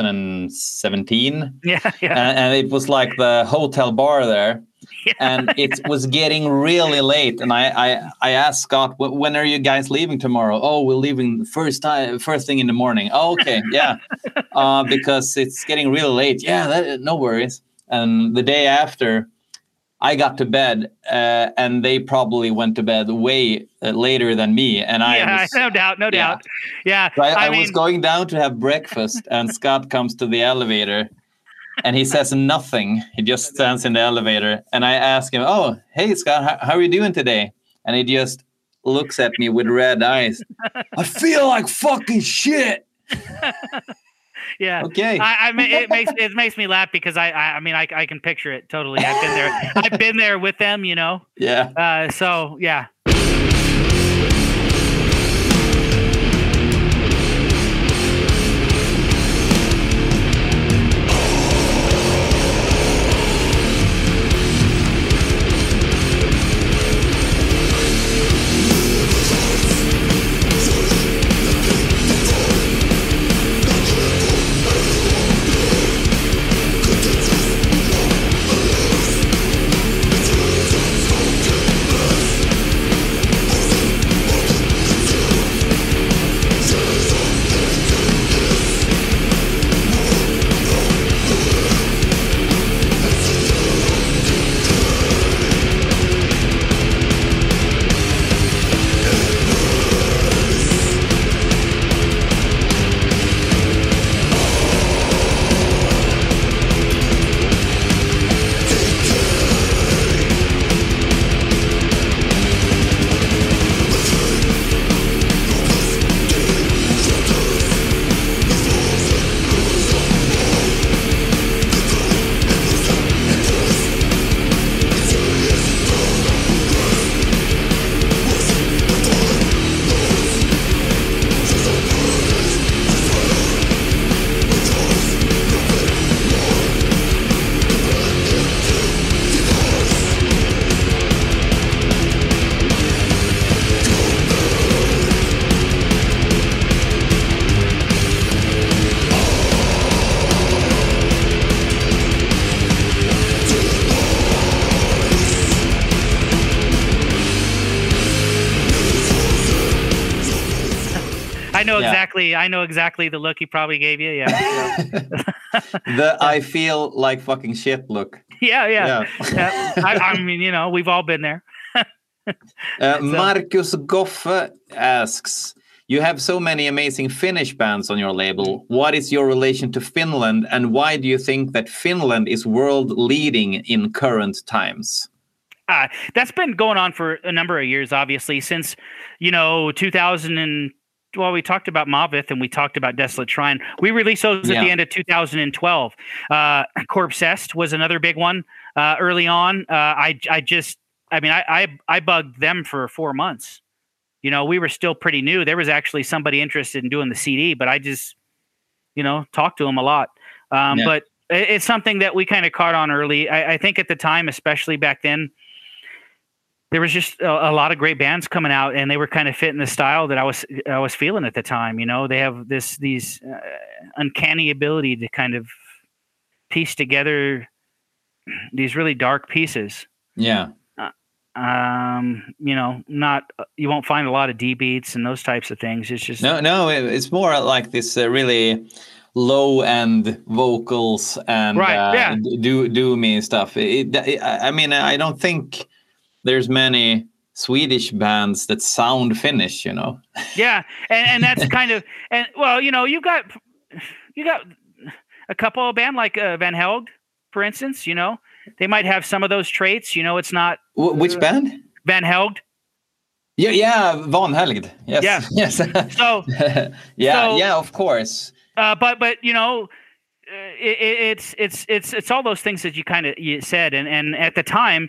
2017. Yeah. And it was like the hotel bar there. Yeah. And it was getting really late. And I asked Scott, when are you guys leaving tomorrow? Oh, we're leaving first thing in the morning. Oh, okay. Yeah. Because it's getting really late. Yeah, no worries. And the day after, I got to bed, and they probably went to bed way later than me. And no doubt. Yeah. So I was going down to have breakfast, and Scott comes to the elevator, and he says nothing. He just stands in the elevator, and I ask him, "Oh, hey Scott, how are you doing today?" And he just looks at me with red eyes. I feel like fucking shit. Yeah. Okay. It makes me laugh because I can picture it totally. I've been there. I've been there with them, Yeah. So yeah. I know exactly the look he probably gave you. Yeah. I feel like fucking shit look. Yeah. I mean, we've all been there. Marcus Goffe asks, you have so many amazing Finnish bands on your label. What is your relation to Finland, and why do you think that Finland is world leading in current times? That's been going on for a number of years, obviously, since 2000 well, we talked about Mavith and we talked about Desolate Shrine. We released those at the end of 2012. Corpsest was another big one early on. I bugged them for 4 months. we were still pretty new. There was actually somebody interested in doing the CD, but I just, talked to him a lot. But it's something that we kind of caught on early. I think at the time, especially back then, there was just a lot of great bands coming out, and they were kind of fitting the style that I was feeling at the time. They have these uncanny ability to kind of piece together these really dark pieces. Yeah. Not you won't find a lot of D beats and those types of things. It's just it's more like this really low end vocals and doomy stuff. I mean, I don't think there's many Swedish bands that sound Finnish, Yeah, and that's kind of you got a couple of band like Van Helgt, for instance. They might have some of those traits. It's not which band? Van Helgt. Yeah, Van Helgt. Yes. Yeah. Yes. So yeah, of course. But it's all those things that you said, and at the time,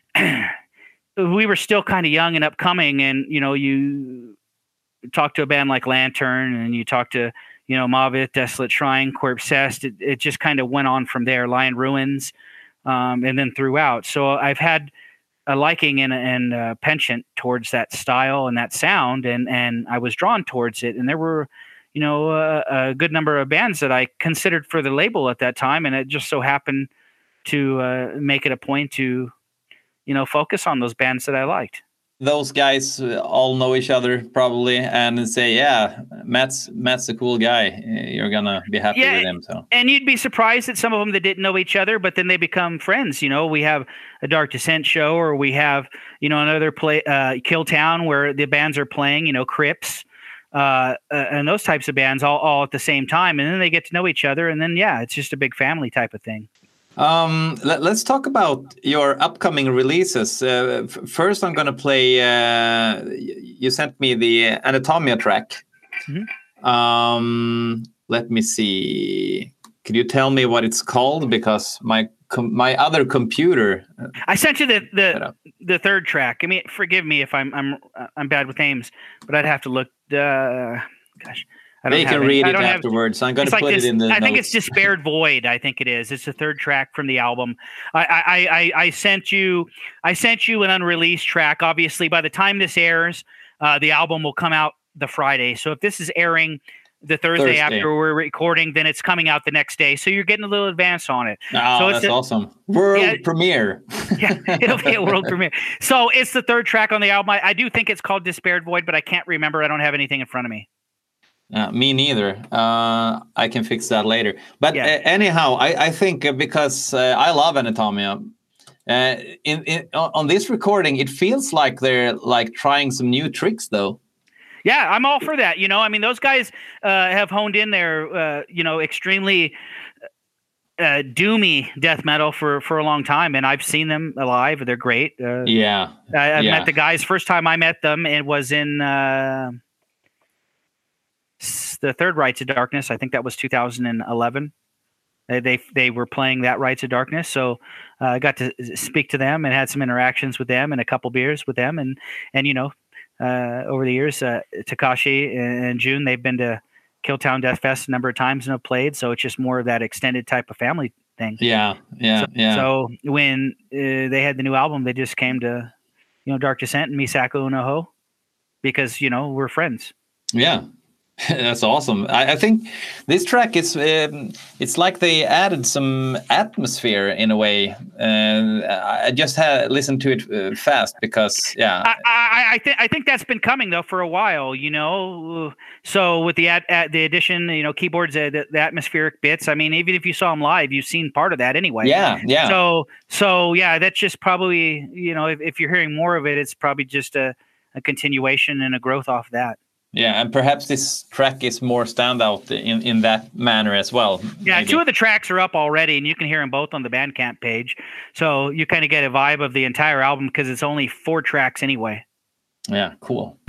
we were still kind of young and upcoming, and you talk to a band like Lantern, and you talk to Mavit, Desolate Shrine, Corpse Cest. It just kind of went on from there. Lion Ruins, and then throughout. So I've had a liking and a penchant towards that style and that sound, and I was drawn towards it. And there were a good number of bands that I considered for the label at that time, and it just so happened to make it a point to focus on those bands that I liked. Those guys all know each other probably, and say, yeah, Matt's a cool guy. You're gonna be happy with him. So, and you'd be surprised at some of them that didn't know each other, but then they become friends. We have a Dark Descent show, or we have another play, Killtown, where the bands are playing. Crips, and those types of bands all at the same time, and then they get to know each other, and then it's just a big family type of thing. Let's talk about your upcoming releases. First, I'm going to play. You sent me the Anatomia track. Mm-hmm. Let me see. Could you tell me what it's called? Because my other computer. I sent you the third track. I mean, forgive me if I'm bad with names, but I'd have to look. Gosh. They can read it afterwards. I'm going to put it in the notes. I think it's Despaired Void. I think it is. It's the third track from the album. I sent you an unreleased track. Obviously, by the time this airs, the album will come out the Friday. So if this is airing the Thursday after we're recording, then it's coming out the next day. So you're getting a little advance on it. Oh, so that's awesome. World premiere. Yeah, it'll be a world premiere. So it's the third track on the album. I do think it's called Despaired Void, but I can't remember. I don't have anything in front of me. Me neither. I can fix that later. But anyhow, I think because I love Anatomia, on this recording, it feels like they're like trying some new tricks, though. Yeah, I'm all for that. I mean, those guys have honed in their, extremely doomy death metal for a long time, and I've seen them live. They're great. I've met the guys. First time I met them, it was in the third Rites of Darkness. I think that was 2011. They were playing that Rites of Darkness, so I got to speak to them and had some interactions with them and a couple beers with them, and over the years, Takashi and June, they've been to Killtown Death Fest a number of times and have played, so it's just more of that extended type of family thing. So when they had the new album, they just came to Dark Descent and Misako Unoho because we're friends. Yeah. That's awesome. I think this track is it's like they added some atmosphere in a way. I just listened to it fast because I think that's been coming though for a while, So with the addition, keyboards, the atmospheric bits. I mean, even if you saw them live, you've seen part of that anyway. Yeah. So yeah, that's just probably if you're hearing more of it, it's probably just a continuation and a growth off that. Yeah, and perhaps this track is more standout in that manner as well. Yeah, maybe. 2 of the tracks are up already, and you can hear them both on the Bandcamp page. So you kind of get a vibe of the entire album because it's only 4 tracks anyway. Yeah, cool.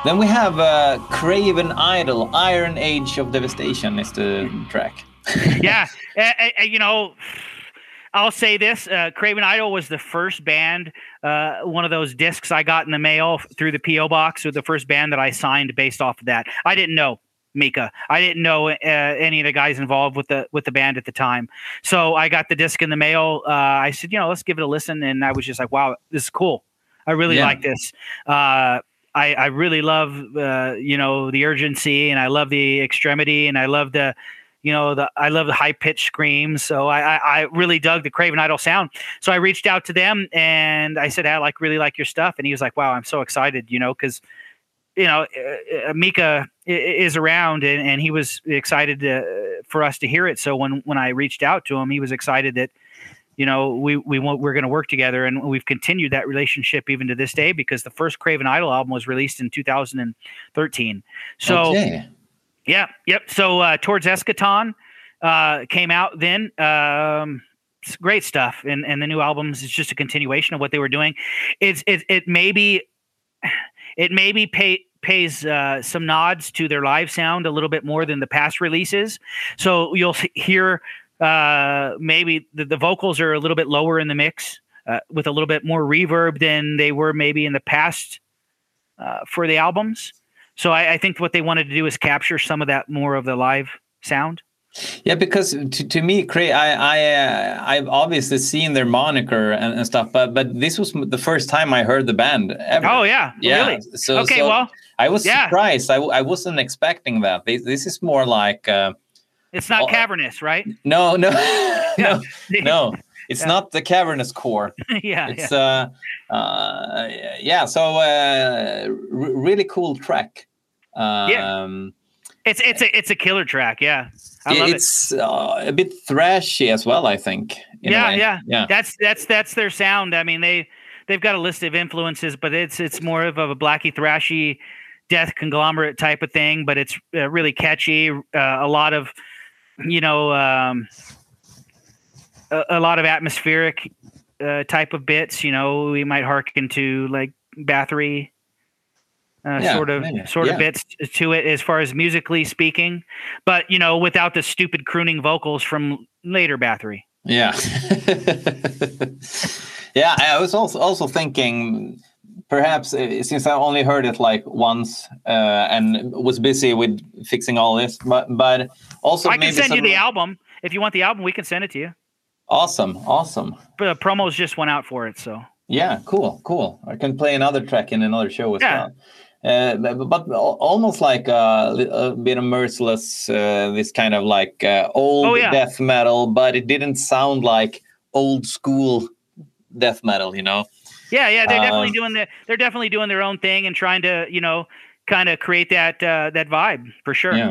Then we have Craven Idol, Iron Age of Devastation is the track. Yeah, you know, I'll say this: Craven Idol was the first band, one of those discs I got in the mail through the PO box, was the first band that I signed based off of that. I didn't know Mika. I didn't know any of the guys involved with the band at the time. So I got the disc in the mail. I said, you know, let's give it a listen, and I was just like, wow, this is cool. I really like this. I really love you know, the urgency, and I love the extremity, and I love the, you know, I love the high pitched screams. So I really dug the Craven Idol sound. So I reached out to them and I said, I really like your stuff. And he was like, wow, I'm so excited, you know, because, you know, Mika is around, and he was excited for us to hear it. So when I reached out to him, he was excited that, you know, we're going to work together, and we've continued that relationship even to this day, because the first Craven Idol album was released in 2013. So. Okay. Yeah. Yep. So Towards Eschaton came out then. It's great stuff, and the new albums is just a continuation of what they were doing. It maybe pays some nods to their live sound a little bit more than the past releases. So you'll hear maybe the vocals are a little bit lower in the mix, with a little bit more reverb than they were maybe in the past for the albums. So I think what they wanted to do is capture some of that more of the live sound. Yeah, because to me, I've obviously seen their moniker and stuff, but this was the first time I heard the band ever. Oh yeah, really? So, okay, well, I was surprised. I wasn't expecting that. This is more like it's not cavernous, right? No. It's not the cavernous core. It's really cool track. It's a killer track. Yeah, I love it. It's a bit thrashy as well, I think. Yeah. That's their sound. I mean, they've got a list of influences, but it's more of a blacky thrashy death conglomerate type of thing. But it's really catchy. A lot of, you know, a lot of atmospheric type of bits. You know, we might hearken to like Bathory. Sort of bits to it as far as musically speaking, but you know, without the stupid crooning vocals from later Bathory. Yeah. Yeah, I was also thinking perhaps since I only heard it like once and was busy with fixing all this, but also I can send you the album. If you want the album, we can send it to you. Awesome. But promos just went out for it, so. Yeah, cool. I can play another track in another show as well. But almost like a bit of Merciless, this kind of like old death metal, but it didn't sound like old school death metal, you know? Yeah, they're definitely doing their own thing and trying to, you know, kind of create that vibe for sure. Yeah.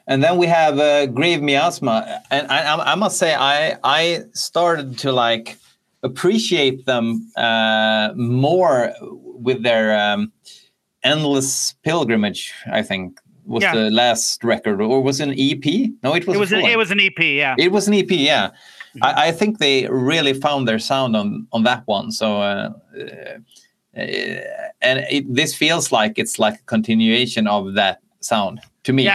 And then we have Grieve Miasma, and I must say I started to like appreciate them more with their Endless Pilgrimage. I think was the last record, or was it an EP? No, it was. It was an EP. Yeah, it was an EP. Yeah, I think they really found their sound on that one. So. And this feels like it's like a continuation of that sound to me.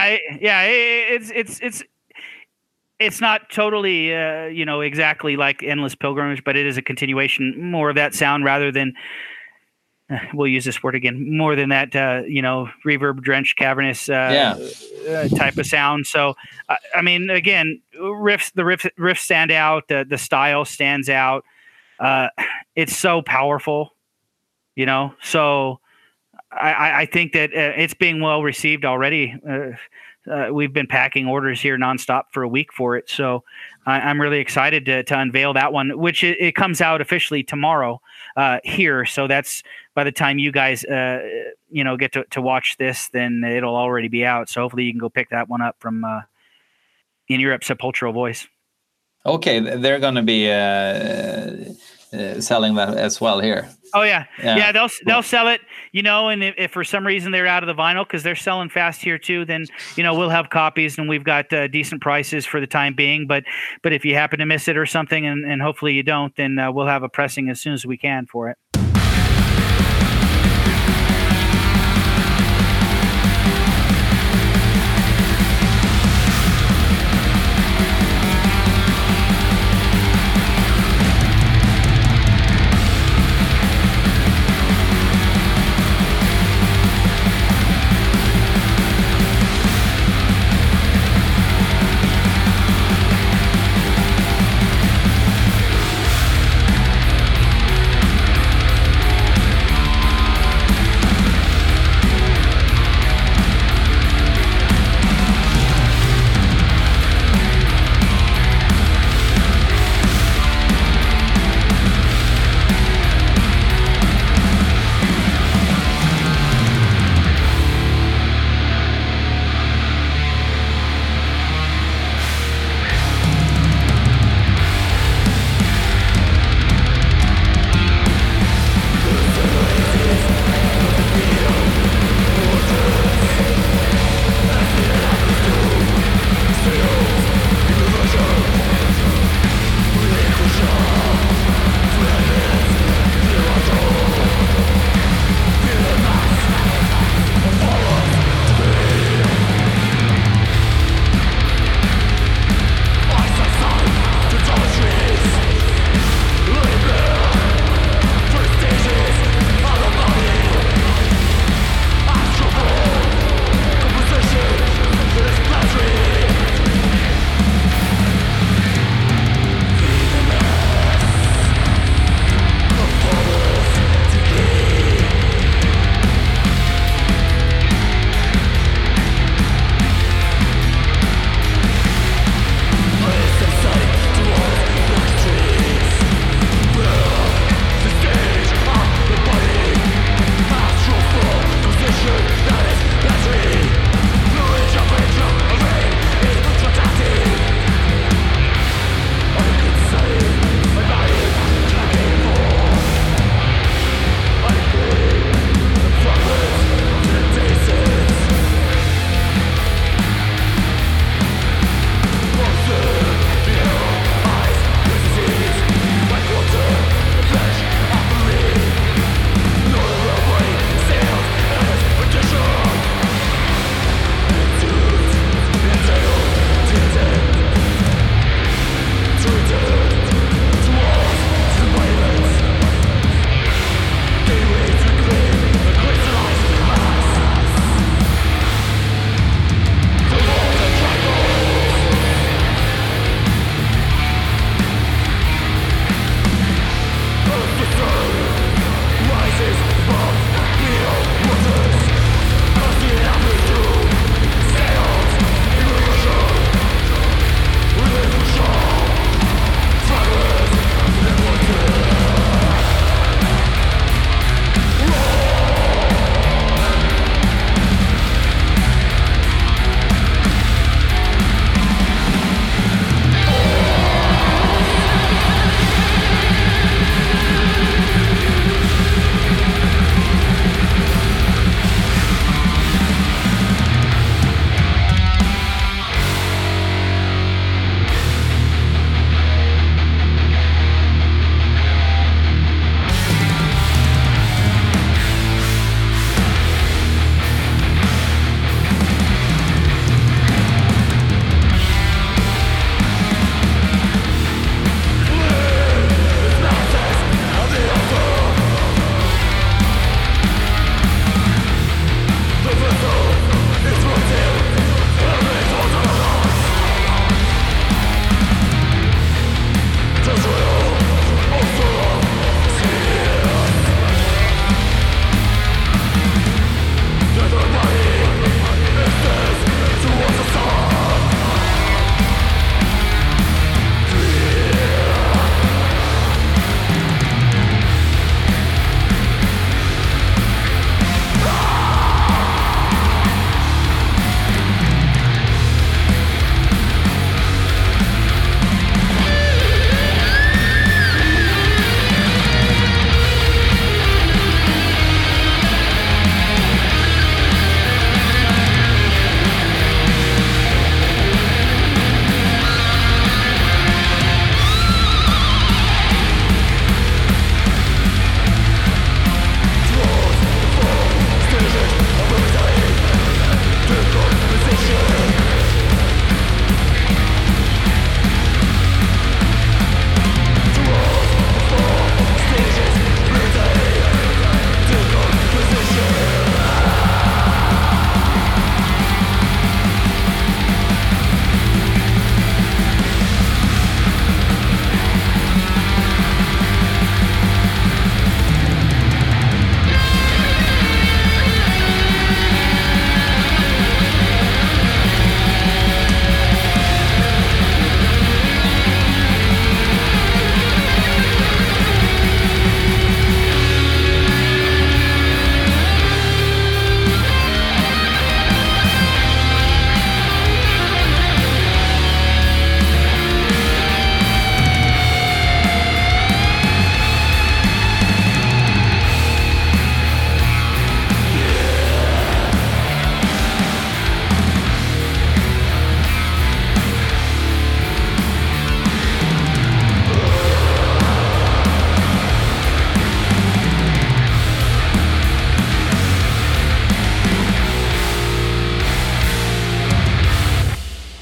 It's not totally exactly like Endless Pilgrimage, but it is a continuation more of that sound rather than we'll use this word again, more than that reverb drenched cavernous type of sound. So I mean, again, the riffs stand out, the style stands out. It's so powerful. So I think that it's being well received already. We've been packing orders here nonstop for a week for it. So I'm really excited to unveil that one, which it comes out officially tomorrow here. So that's by the time you guys, get to watch this, then it'll already be out. So hopefully you can go pick that one up from In Europe, Sepulchral Voice. Okay. They're going to be selling that as well here. Oh yeah. They'll sell it, and if for some reason they're out of the vinyl, because they're selling fast here too, then we'll have copies and we've got decent prices for the time being. But if you happen to miss it or something, and hopefully you don't, then we'll have a pressing as soon as we can for it.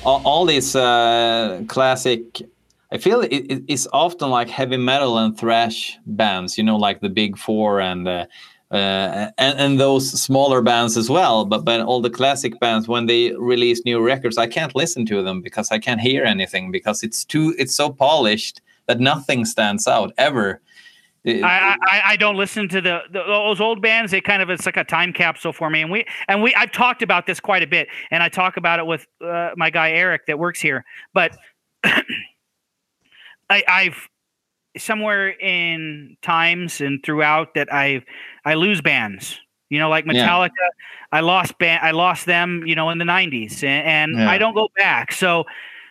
all these classic. I feel it's often like heavy metal and thrash bands, you know, like the Big Four and those smaller bands as well. But all the classic bands, when they release new records, I can't listen to them because I can't hear anything because it's so polished that nothing stands out ever. I don't listen to those old bands. It's like a time capsule for me. And I've talked about this quite a bit, and I talk about it with my guy Eric that works here. But I've somewhere in times and throughout that I lose bands. You know, like Metallica, I lost them. You know, in the '90s, and I don't go back. So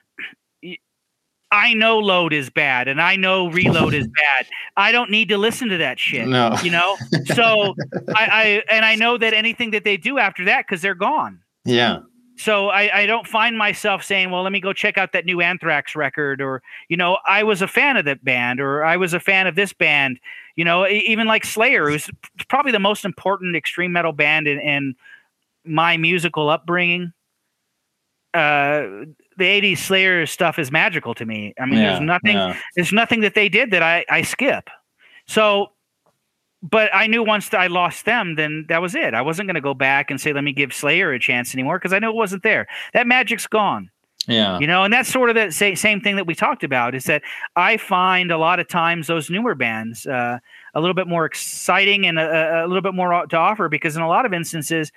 I know Load is bad, and I know Reload is bad. I don't need to listen to that shit. No. You know. So I know that anything that they do after that, because they're gone. Yeah. So I don't find myself saying, well, let me go check out that new Anthrax record, or, you know, I was a fan of that band, or I was a fan of this band, you know, even like Slayer, who's probably the most important extreme metal band in my musical upbringing. The 80s Slayer stuff is magical to me. I mean, there's nothing that they did that I skip. So, but I knew once I lost them, then that was it. I wasn't going to go back and say, let me give Slayer a chance anymore, because I know it wasn't there. That magic's gone. Yeah. You know, and that's sort of the same thing that we talked about, is that I find a lot of times those newer bands a little bit more exciting and a little bit more to offer, because in a lot of instances,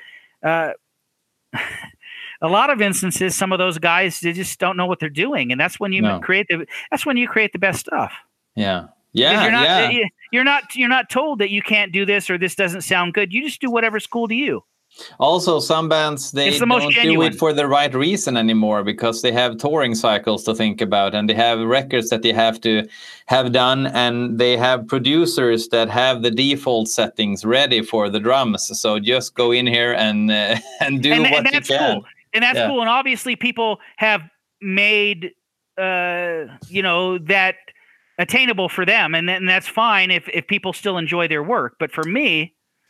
some of those guys, they just don't know what they're doing. And that's when you create the best stuff. Yeah. Yeah, you're not told that you can't do this or this doesn't sound good. You just do whatever's cool to you. Also, some bands, they don't do it for the right reason anymore, because they have touring cycles to think about, and they have records that they have to have done, and they have producers that have the default settings ready for the drums. So just go in here and do what you can. Cool. And that's cool. And obviously people have made that attainable for them, and that's fine if people still enjoy their work. But for me,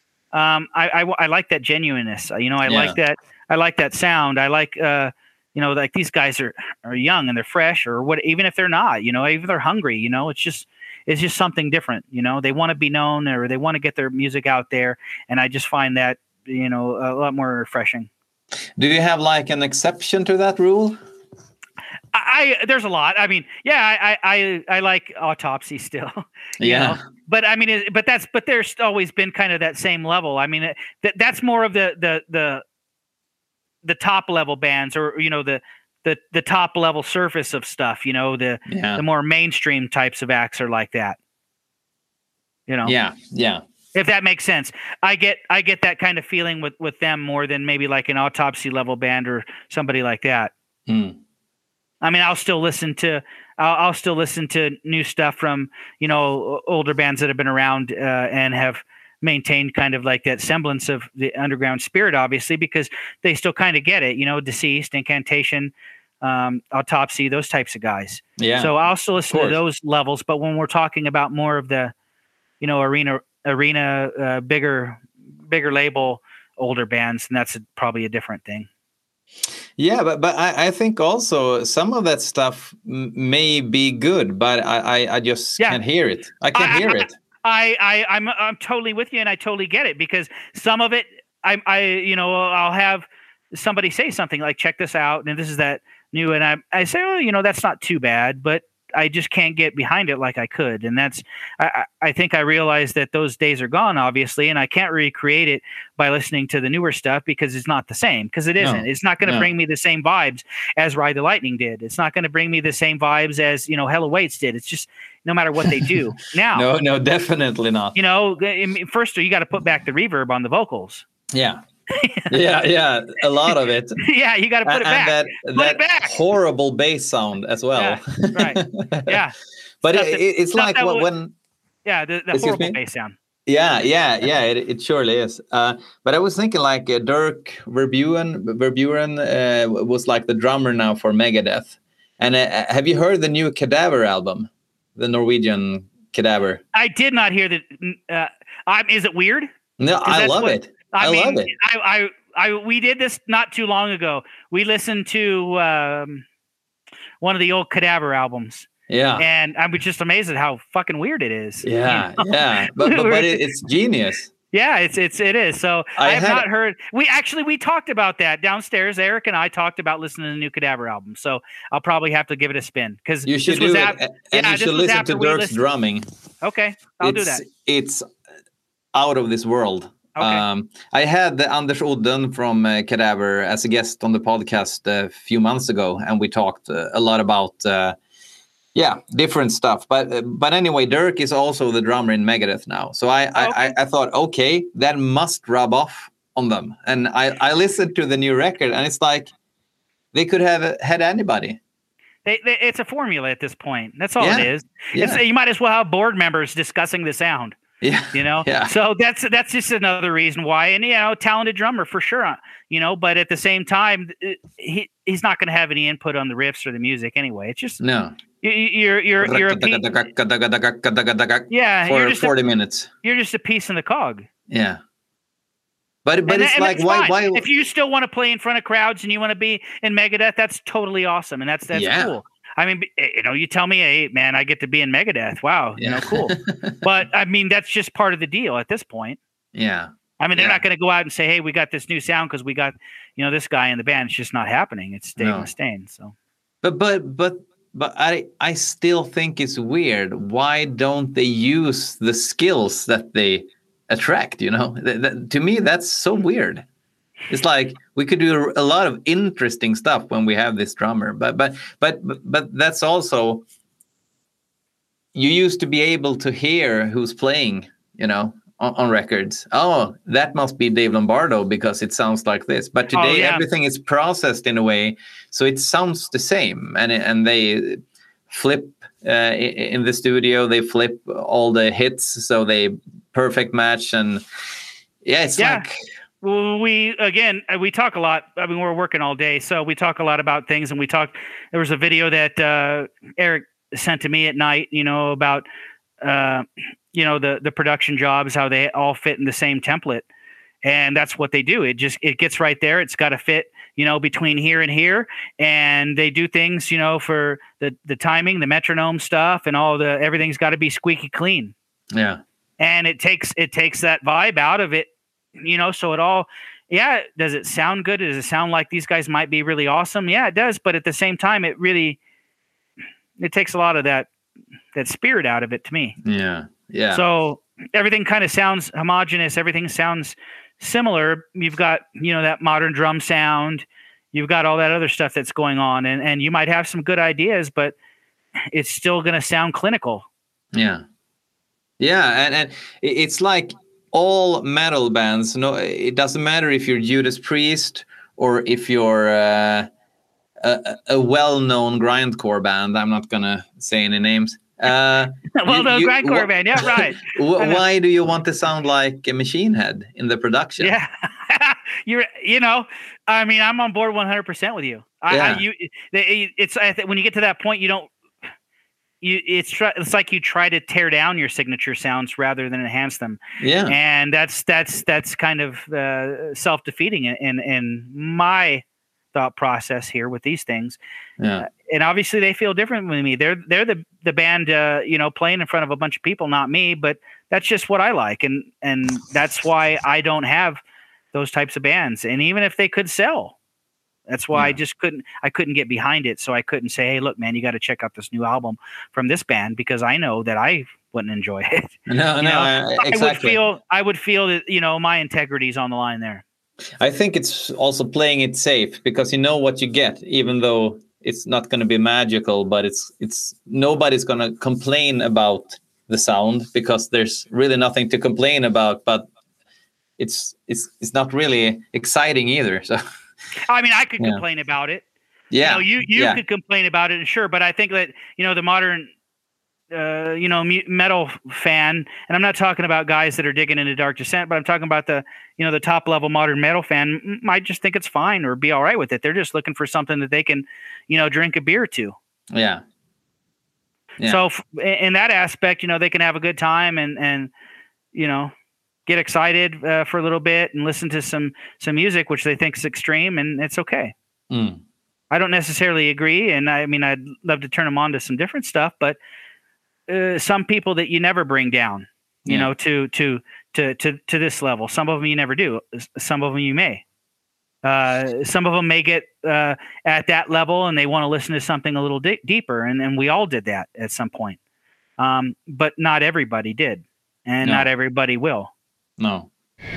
I like that genuineness. You know, I like that sound. I like like these guys are young and they're fresh, or what, even if they're not, you know, even if they're hungry, you know, it's just something different. You know, they want to be known, or they want to get their music out there, and I just find that, you know, a lot more refreshing. Do you have like an exception to that rule? There's a lot. I mean, I like Autopsy still. You know? But I mean, but there's always been kind of that same level. I mean, that's more of the top level bands, or, you know, the top level surface of stuff. You know, the more mainstream types of acts are like that. You know. Yeah. If that makes sense. I get that kind of feeling with them more than maybe like an Autopsy level band or somebody like that. I mean, I'll still listen to new stuff from, you know, older bands that have been around and have maintained kind of like that semblance of the underground spirit, obviously, because they still kind of get it, you know, Deceased, Incantation, Autopsy, those types of guys. Yeah. So I'll still listen to those levels. But when we're talking about more of the, you know, arena, bigger label, older bands, and that's probably a different thing. Yeah, but I think also some of that stuff may be good, but I just can't hear it. I can't hear it. I'm totally with you, and I totally get it, because some of it, I'll have somebody say something like, check this out, and this is that new, and I say, oh, you know, that's not too bad, but I just can't get behind it like I could. And that's, I think I realized that those days are gone, obviously, and I can't recreate it by listening to the newer stuff, because it's not the same, because it isn't. It's not going to bring me the same vibes as Ride the Lightning did. It's not going to bring me the same vibes as, you know, Hell Awaits did. It's just, no matter what they do now. No, definitely not. You know, first you got to put back the reverb on the vocals. Yeah. yeah, a lot of it. Yeah, you got to put it back. And that horrible bass sound as well. Yeah, right. Yeah. But it's like when the horrible bass sound. Yeah, it surely is. But I was thinking like Dirk Verburen was like the drummer now for Megadeth. And have you heard the new Cadaver album, the Norwegian Cadaver? I did not hear that. Is it weird? No, I love it. I love it. we did this not too long ago. We listened to one of the old Cadaver albums. Yeah. And I was just amazed at how fucking weird it is. Yeah. You know? Yeah. But it's genius. Yeah, it is. So I have not heard. We talked about that downstairs. Eric and I talked about listening to the new Cadaver album. So I'll probably have to give it a spin because you should do it. And you should listen to Dirk's drumming. Okay, I'll do that. It's out of this world. Okay. I had Anders Odden from Cadaver as a guest on the podcast a few months ago, and we talked a lot about different stuff. But anyway, Dirk is also the drummer in Megadeth now. So I thought, okay, that must rub off on them. And I listened to the new record, and it's like they could have had anybody. It's a formula at this point. That's all it is. Yeah. You might as well have board members discussing the sound. Yeah. You know? Yeah. So that's just another reason why. And, talented drummer for sure, but at the same time, he's not going to have any input on the riffs or the music anyway. It's just, no. You're a for 40 minutes. You're just a piece in the cog. Yeah. But it's like, why? If you still want to play in front of crowds and you want to be in Megadeth, that's totally awesome. And that's cool. I mean, you tell me, hey, man, I get to be in Megadeth. Wow. Cool. But I mean, that's just part of the deal at this point. Yeah. I mean, they're not going to go out and say, hey, we got this new sound because we got, this guy in the band. It's just not happening. It's Dave Mustaine. So, but I still think it's weird. Why don't they use the skills that they attract? To me, that's so weird. It's like we could do a lot of interesting stuff when we have this drummer, but that's also, you used to be able to hear who's playing, on records. Oh, that must be Dave Lombardo because it sounds like this. But today everything is processed in a way so it sounds the same, and they flip in the studio. They flip all the hits so they perfect match, and like. Well, we talk a lot. I mean, we're working all day, so we talk a lot about things. And there was a video that Eric sent to me at night, about, the production jobs, how they all fit in the same template. And that's what they do. It gets right there. It's got to fit, between here and here. And they do things, for the timing, the metronome stuff, and everything's got to be squeaky clean. Yeah. And it takes that vibe out of it. So it all, does it sound good? Does it sound like these guys might be really awesome? Yeah, it does. But at the same time, it takes a lot of that spirit out of it to me. Yeah. Yeah. So everything kind of sounds homogenous. Everything sounds similar. You've got, that modern drum sound. You've got all that other stuff that's going on. And you might have some good ideas, but it's still going to sound clinical. Yeah. Yeah. And it's like, all metal bands, it doesn't matter if you're Judas Priest or if you're a well-known grindcore band. I'm not gonna say any names. Well-known grindcore band, yeah, right. Why do you want to sound like a Machine Head in the production? Yeah, I mean, I'm on board 100% with you. When you get to that point, you don't. It's like you try to tear down your signature sounds rather than enhance them. Yeah, and that's kind of self-defeating in my thought process here with these things. Yeah, and obviously they feel different than me. They're the band, playing in front of a bunch of people, not me. But that's just what I like, and that's why I don't have those types of bands. And even if they could sell. That's why I couldn't get behind it. So I couldn't say, hey, look, man, you got to check out this new album from this band because I know that I wouldn't enjoy it. Exactly. I would feel that, my integrity is on the line there. I think it's also playing it safe because you know what you get, even though it's not going to be magical, but it's nobody's going to complain about the sound because there's really nothing to complain about, but it's not really exciting either. So. I mean, I could complain about it. Yeah. You could complain about it, sure. But I think that, the modern, metal fan, and I'm not talking about guys that are digging into Dark Descent, but I'm talking about the top level modern metal fan might just think it's fine or be all right with it. They're just looking for something that they can, drink a beer to. Yeah. So in that aspect, they can have a good time and get excited for a little bit and listen to some music which they think is extreme, and it's okay. I don't necessarily agree, and I mean I'd love to turn them on to some different stuff, but some people that you never bring down, you know, to this level. Some of them you never do. Some of them you may. Some of them may get at that level and they want to listen to something a little deeper, and we all did that at some point. But not everybody did, and not everybody will. No.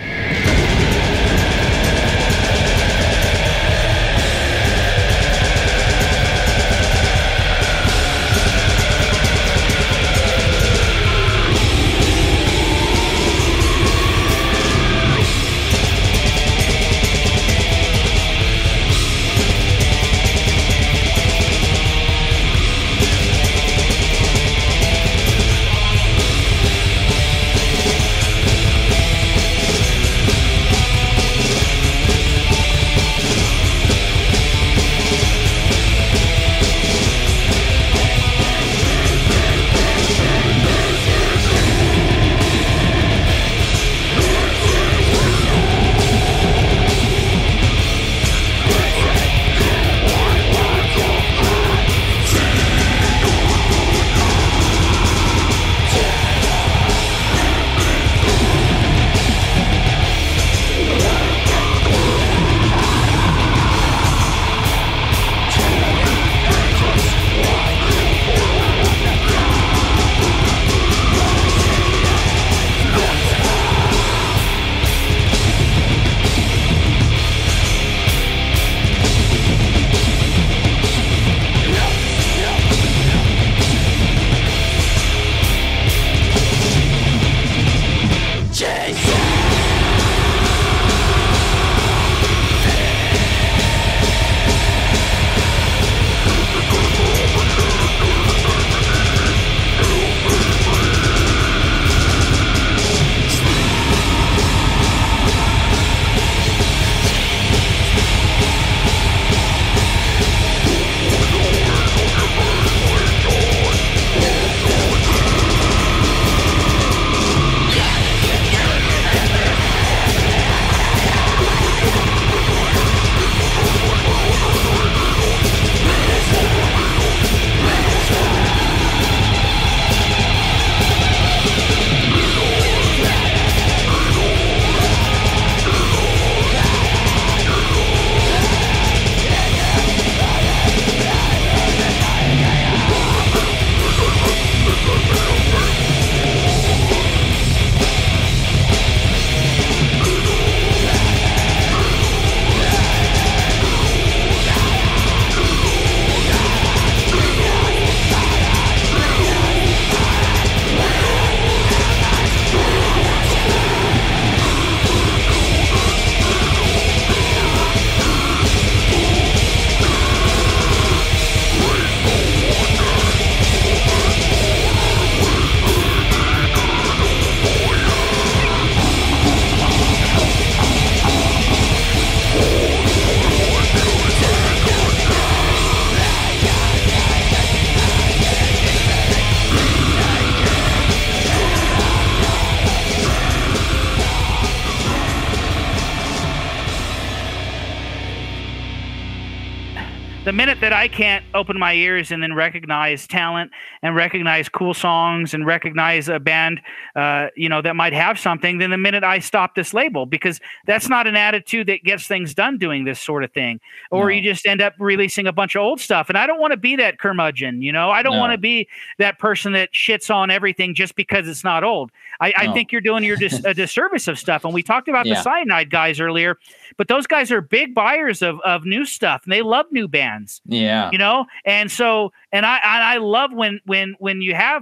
the minute that I can't open my ears and then recognize talent and recognize cool songs and recognize a band, that might have something, then the minute I stop this label, because that's not an attitude that gets things done doing this sort of thing. Or you just end up releasing a bunch of old stuff. And I don't want to be that curmudgeon, I don't want to be that person that shits on everything just because it's not old. I think you're doing a disservice of stuff. And we talked about the Cyanide guys earlier, but those guys are big buyers of new stuff, and they love new bands. Yeah. And so, and I love when you have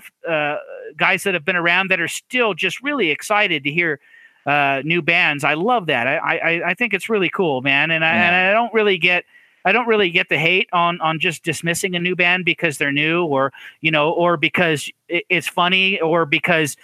guys that have been around that are still just really excited to hear new bands. I love that. I think it's really cool, man. And I don't really get the hate on just dismissing a new band because they're new, or because it's funny, or because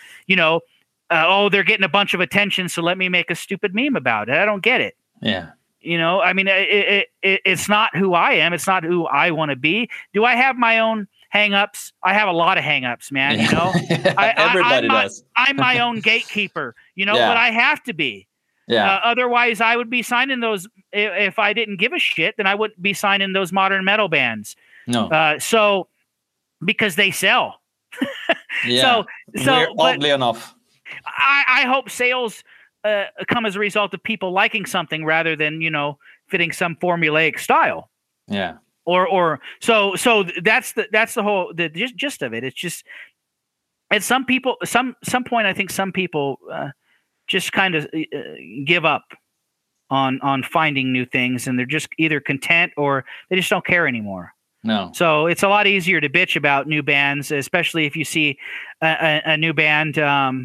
they're getting a bunch of attention, so let me make a stupid meme about it. I don't get it. Yeah. I mean, it's not who I am. It's not who I want to be. Do I have my own hang-ups? I have a lot of hang-ups, man. Everybody does. I'm my own gatekeeper. but I have to be. Yeah. Otherwise, I would be signing those. If I didn't give a shit, then I wouldn't be signing those modern metal bands. No. So because they sell. Yeah. Oddly enough. I hope sales come as a result of people liking something rather than, fitting some formulaic style. Yeah. Or so that's the whole gist of it. It's just at some point I think some people just kind of give up on finding new things, and they're just either content or they just don't care anymore. No. So it's a lot easier to bitch about new bands, especially if you see a new band doing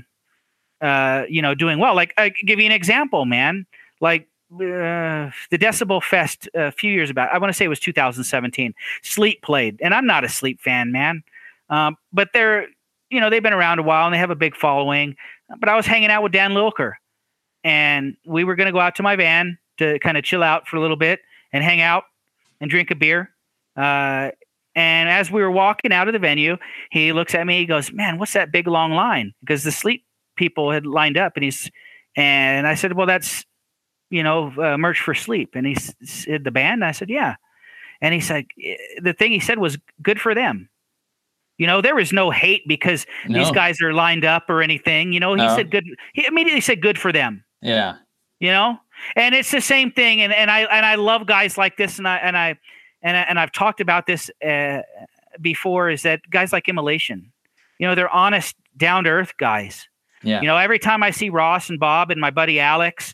well. Like, I give you an example, man. Like the Decibel Fest a few years back, I want to say it was 2017. Sleep played, and I'm not a Sleep fan, man. But they've been around a while and they have a big following. But I was hanging out with Dan Lilker, and we were going to go out to my van to kind of chill out for a little bit and hang out and drink a beer. And as we were walking out of the venue, he looks at me, he goes, "Man, what's that big long line?" Because the Sleep people had lined up, and I said, "Well, that's, merch for Sleep." And he said, "The band?" I said, "Yeah." And he said, the thing he said was, "Good for them." There was no hate because these guys are lined up or anything. He said good. He immediately said, "Good for them." Yeah. And it's the same thing. And I love guys like this. And I've talked about this before, is that guys like Immolation, they're honest, down to earth guys. Yeah. Every time I see Ross and Bob and my buddy Alex,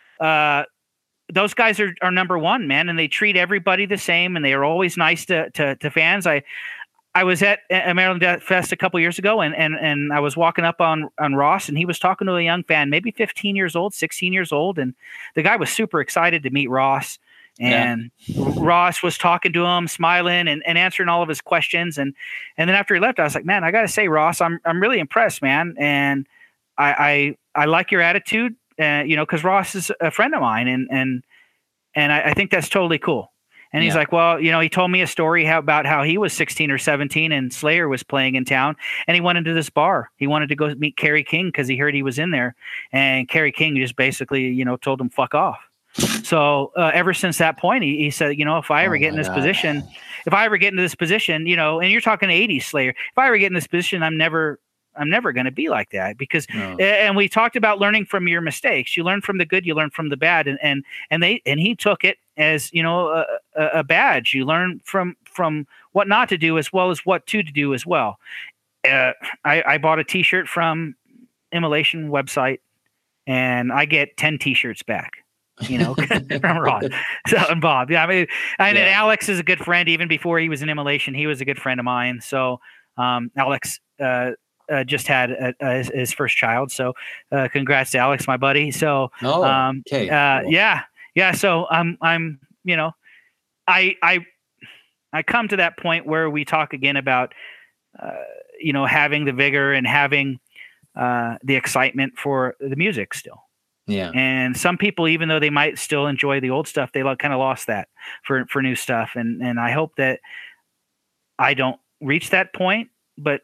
those guys are number one, man. And they treat everybody the same, and they are always nice to fans. I was at Maryland Death Fest a couple years ago, and I was walking up on Ross, and he was talking to a young fan, maybe 15 years old, 16 years old. And the guy was super excited to meet Ross. And Ross was talking to him, smiling and answering all of his questions. And then after he left, I was like, "Man, I got to say, Ross, I'm really impressed, man. And I like your attitude, because Ross is a friend of mine. And I think that's totally cool." And he's like, "Well, he told me a story about how he was 16 or 17 and Slayer was playing in town, and he went into this bar. He wanted to go meet Kerry King because he heard he was in there. And Kerry King just basically, told him fuck off." So ever since that point, he said, if I ever get in this position, and you're talking 80s Slayer, if I ever get in this position, I'm never going to be like that, because, and we talked about learning from your mistakes. You learn from the good, you learn from the bad. And he took it as, a badge. You learn from what not to do as well as what to do as well. I bought a t-shirt from Immolation website, and I get 10 t-shirts back. From Ross. So, and Bob. Yeah, and Alex is a good friend. Even before he was in Immolation, he was a good friend of mine. So Alex just had his first child. So congrats to Alex, my buddy. So okay. Yeah. So I'm I come to that point where we talk again about having the vigor and having the excitement for the music still. Yeah. And some people, even though they might still enjoy the old stuff, they kind of lost that for new stuff. And I hope that I don't reach that point. But,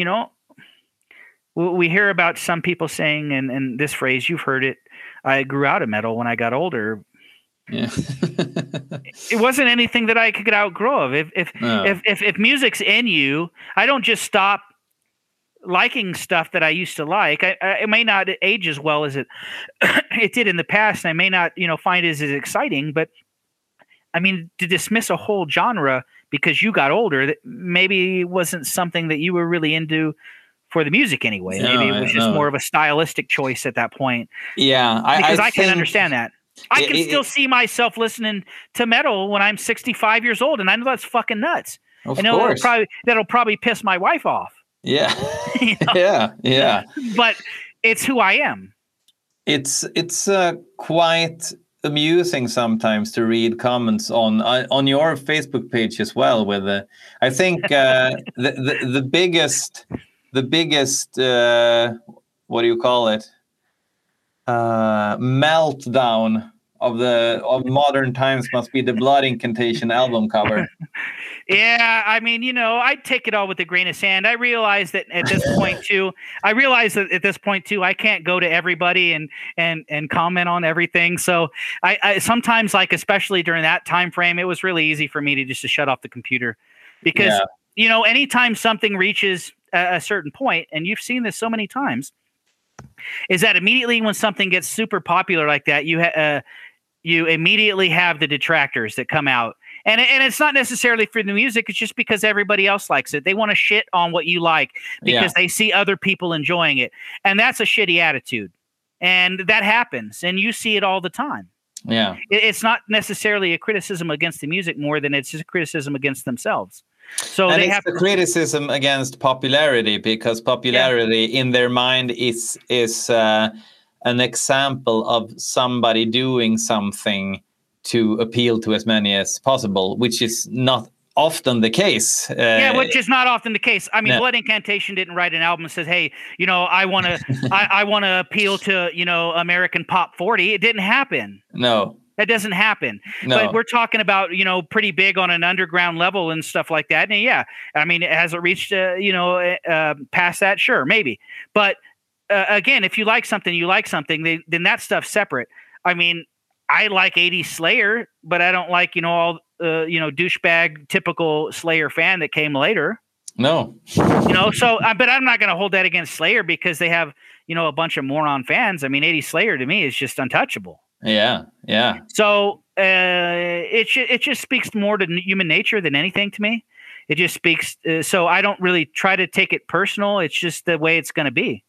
we hear about some people saying, and this phrase, you've heard it, "I grew out of metal when I got older." Yeah. It wasn't anything that I could outgrow of. If music's in you, I don't just stop liking stuff that I used to like. It may not age as well as it did in the past, and I may not, find it as exciting. But I mean, to dismiss a whole genre because you got older, that maybe wasn't something that you were really into for the music anyway. Maybe it was just more of a stylistic choice at that point. Yeah, because I can understand that. I can still see myself listening to metal when I'm 65 years old, and I know that's fucking nuts. Of course, that'll probably piss my wife off. Yeah. Yeah. But it's who I am. It's quite amusing sometimes to read comments on your Facebook page as well. With I think the biggest what do you call it? Meltdown of modern times must be the Blood Incantation album cover. Yeah, I mean, I take it all with a grain of sand. I realize that at this point too. I can't go to everybody and comment on everything. So I sometimes, like, especially during that time frame, it was really easy for me to just shut off the computer, because anytime something reaches a certain point, and you've seen this so many times, is that immediately when something gets super popular like that, you immediately have the detractors that come out. And it's not necessarily for the music. It's just because everybody else likes it. They want to shit on what you like because they see other people enjoying it. And that's a shitty attitude. And that happens. And you see it all the time. Yeah. It's not necessarily a criticism against the music more than it's just a criticism against themselves. So and they it's have a criticism against popularity, because popularity in their mind is an example of somebody doing something to appeal to as many as possible, which is not often the case. Which is not often the case. I mean, Blood Incantation didn't write an album that says, "Hey, I want to, I want to appeal to, American Pop 40." It didn't happen. No, that doesn't happen. No. But we're talking about, pretty big on an underground level and stuff like that. And yeah, I mean, has it reached, past that? Sure, maybe. But again, if you like something, you like something. Then that stuff's separate. I mean, I like 80s Slayer, but I don't like, all, douchebag typical Slayer fan that came later. No. So, but I'm not going to hold that against Slayer because they have, a bunch of moron fans. I mean, 80s Slayer to me is just untouchable. Yeah. Yeah. So it just speaks more to human nature than anything to me. It just speaks. So I don't really try to take it personal. It's just the way it's going to be.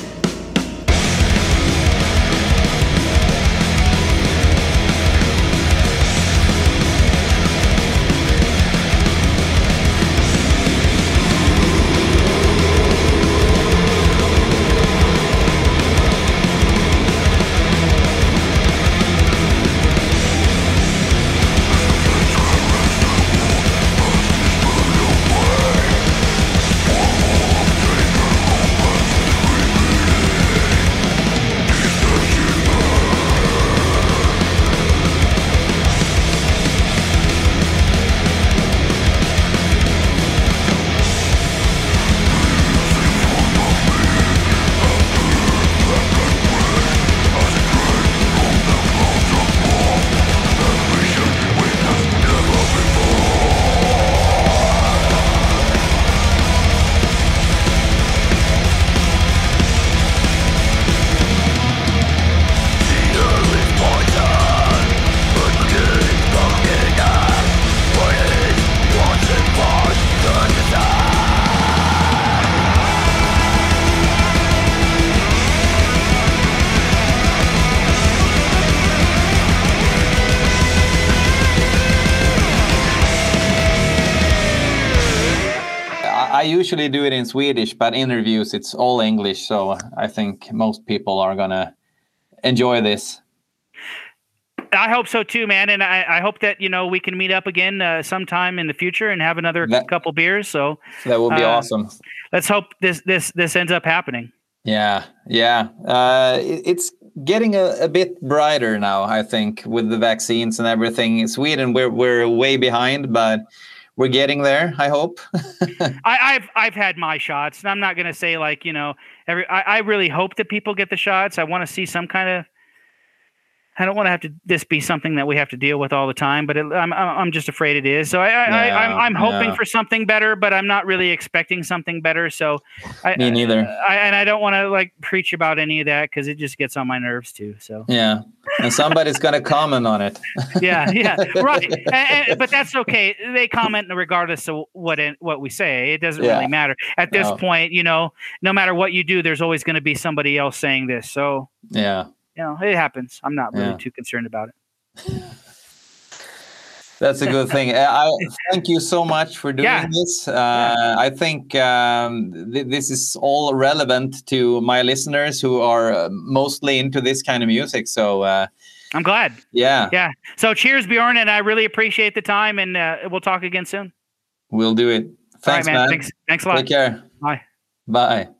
I usually do it in Swedish, but interviews, it's all English. So I think most people are going to enjoy this. I hope so too, man. And I hope that, we can meet up again sometime in the future and have another couple beers. So that would be awesome. Let's hope this ends up happening. Yeah. Yeah. It's getting a bit brighter now, I think, with the vaccines and everything. In Sweden, we're way behind, but we're getting there, I hope. I've had my shots, and I'm not going to say like, I really hope that people get the shots. I want to see some kind of, I don't want to have to this be something that we have to deal with all the time, but I'm just afraid it is. So I'm hoping for something better, but I'm not really expecting something better. So me neither. I don't want to like preach about any of that because it just gets on my nerves too. So yeah, and somebody's gonna comment on it. yeah, right. But that's okay. They comment regardless of what we say. It doesn't really matter at this point. No matter what you do, there's always going to be somebody else saying this. So yeah. It happens. I'm not really too concerned about it. That's a good thing. I thank you so much for doing this. I think this is all relevant to my listeners who are mostly into this kind of music. So I'm glad. Yeah. So cheers, Bjorn, and I really appreciate the time, and we'll talk again soon. We'll do it. Thanks, all right, man. Man. Thanks a lot. Take care. Bye. Bye.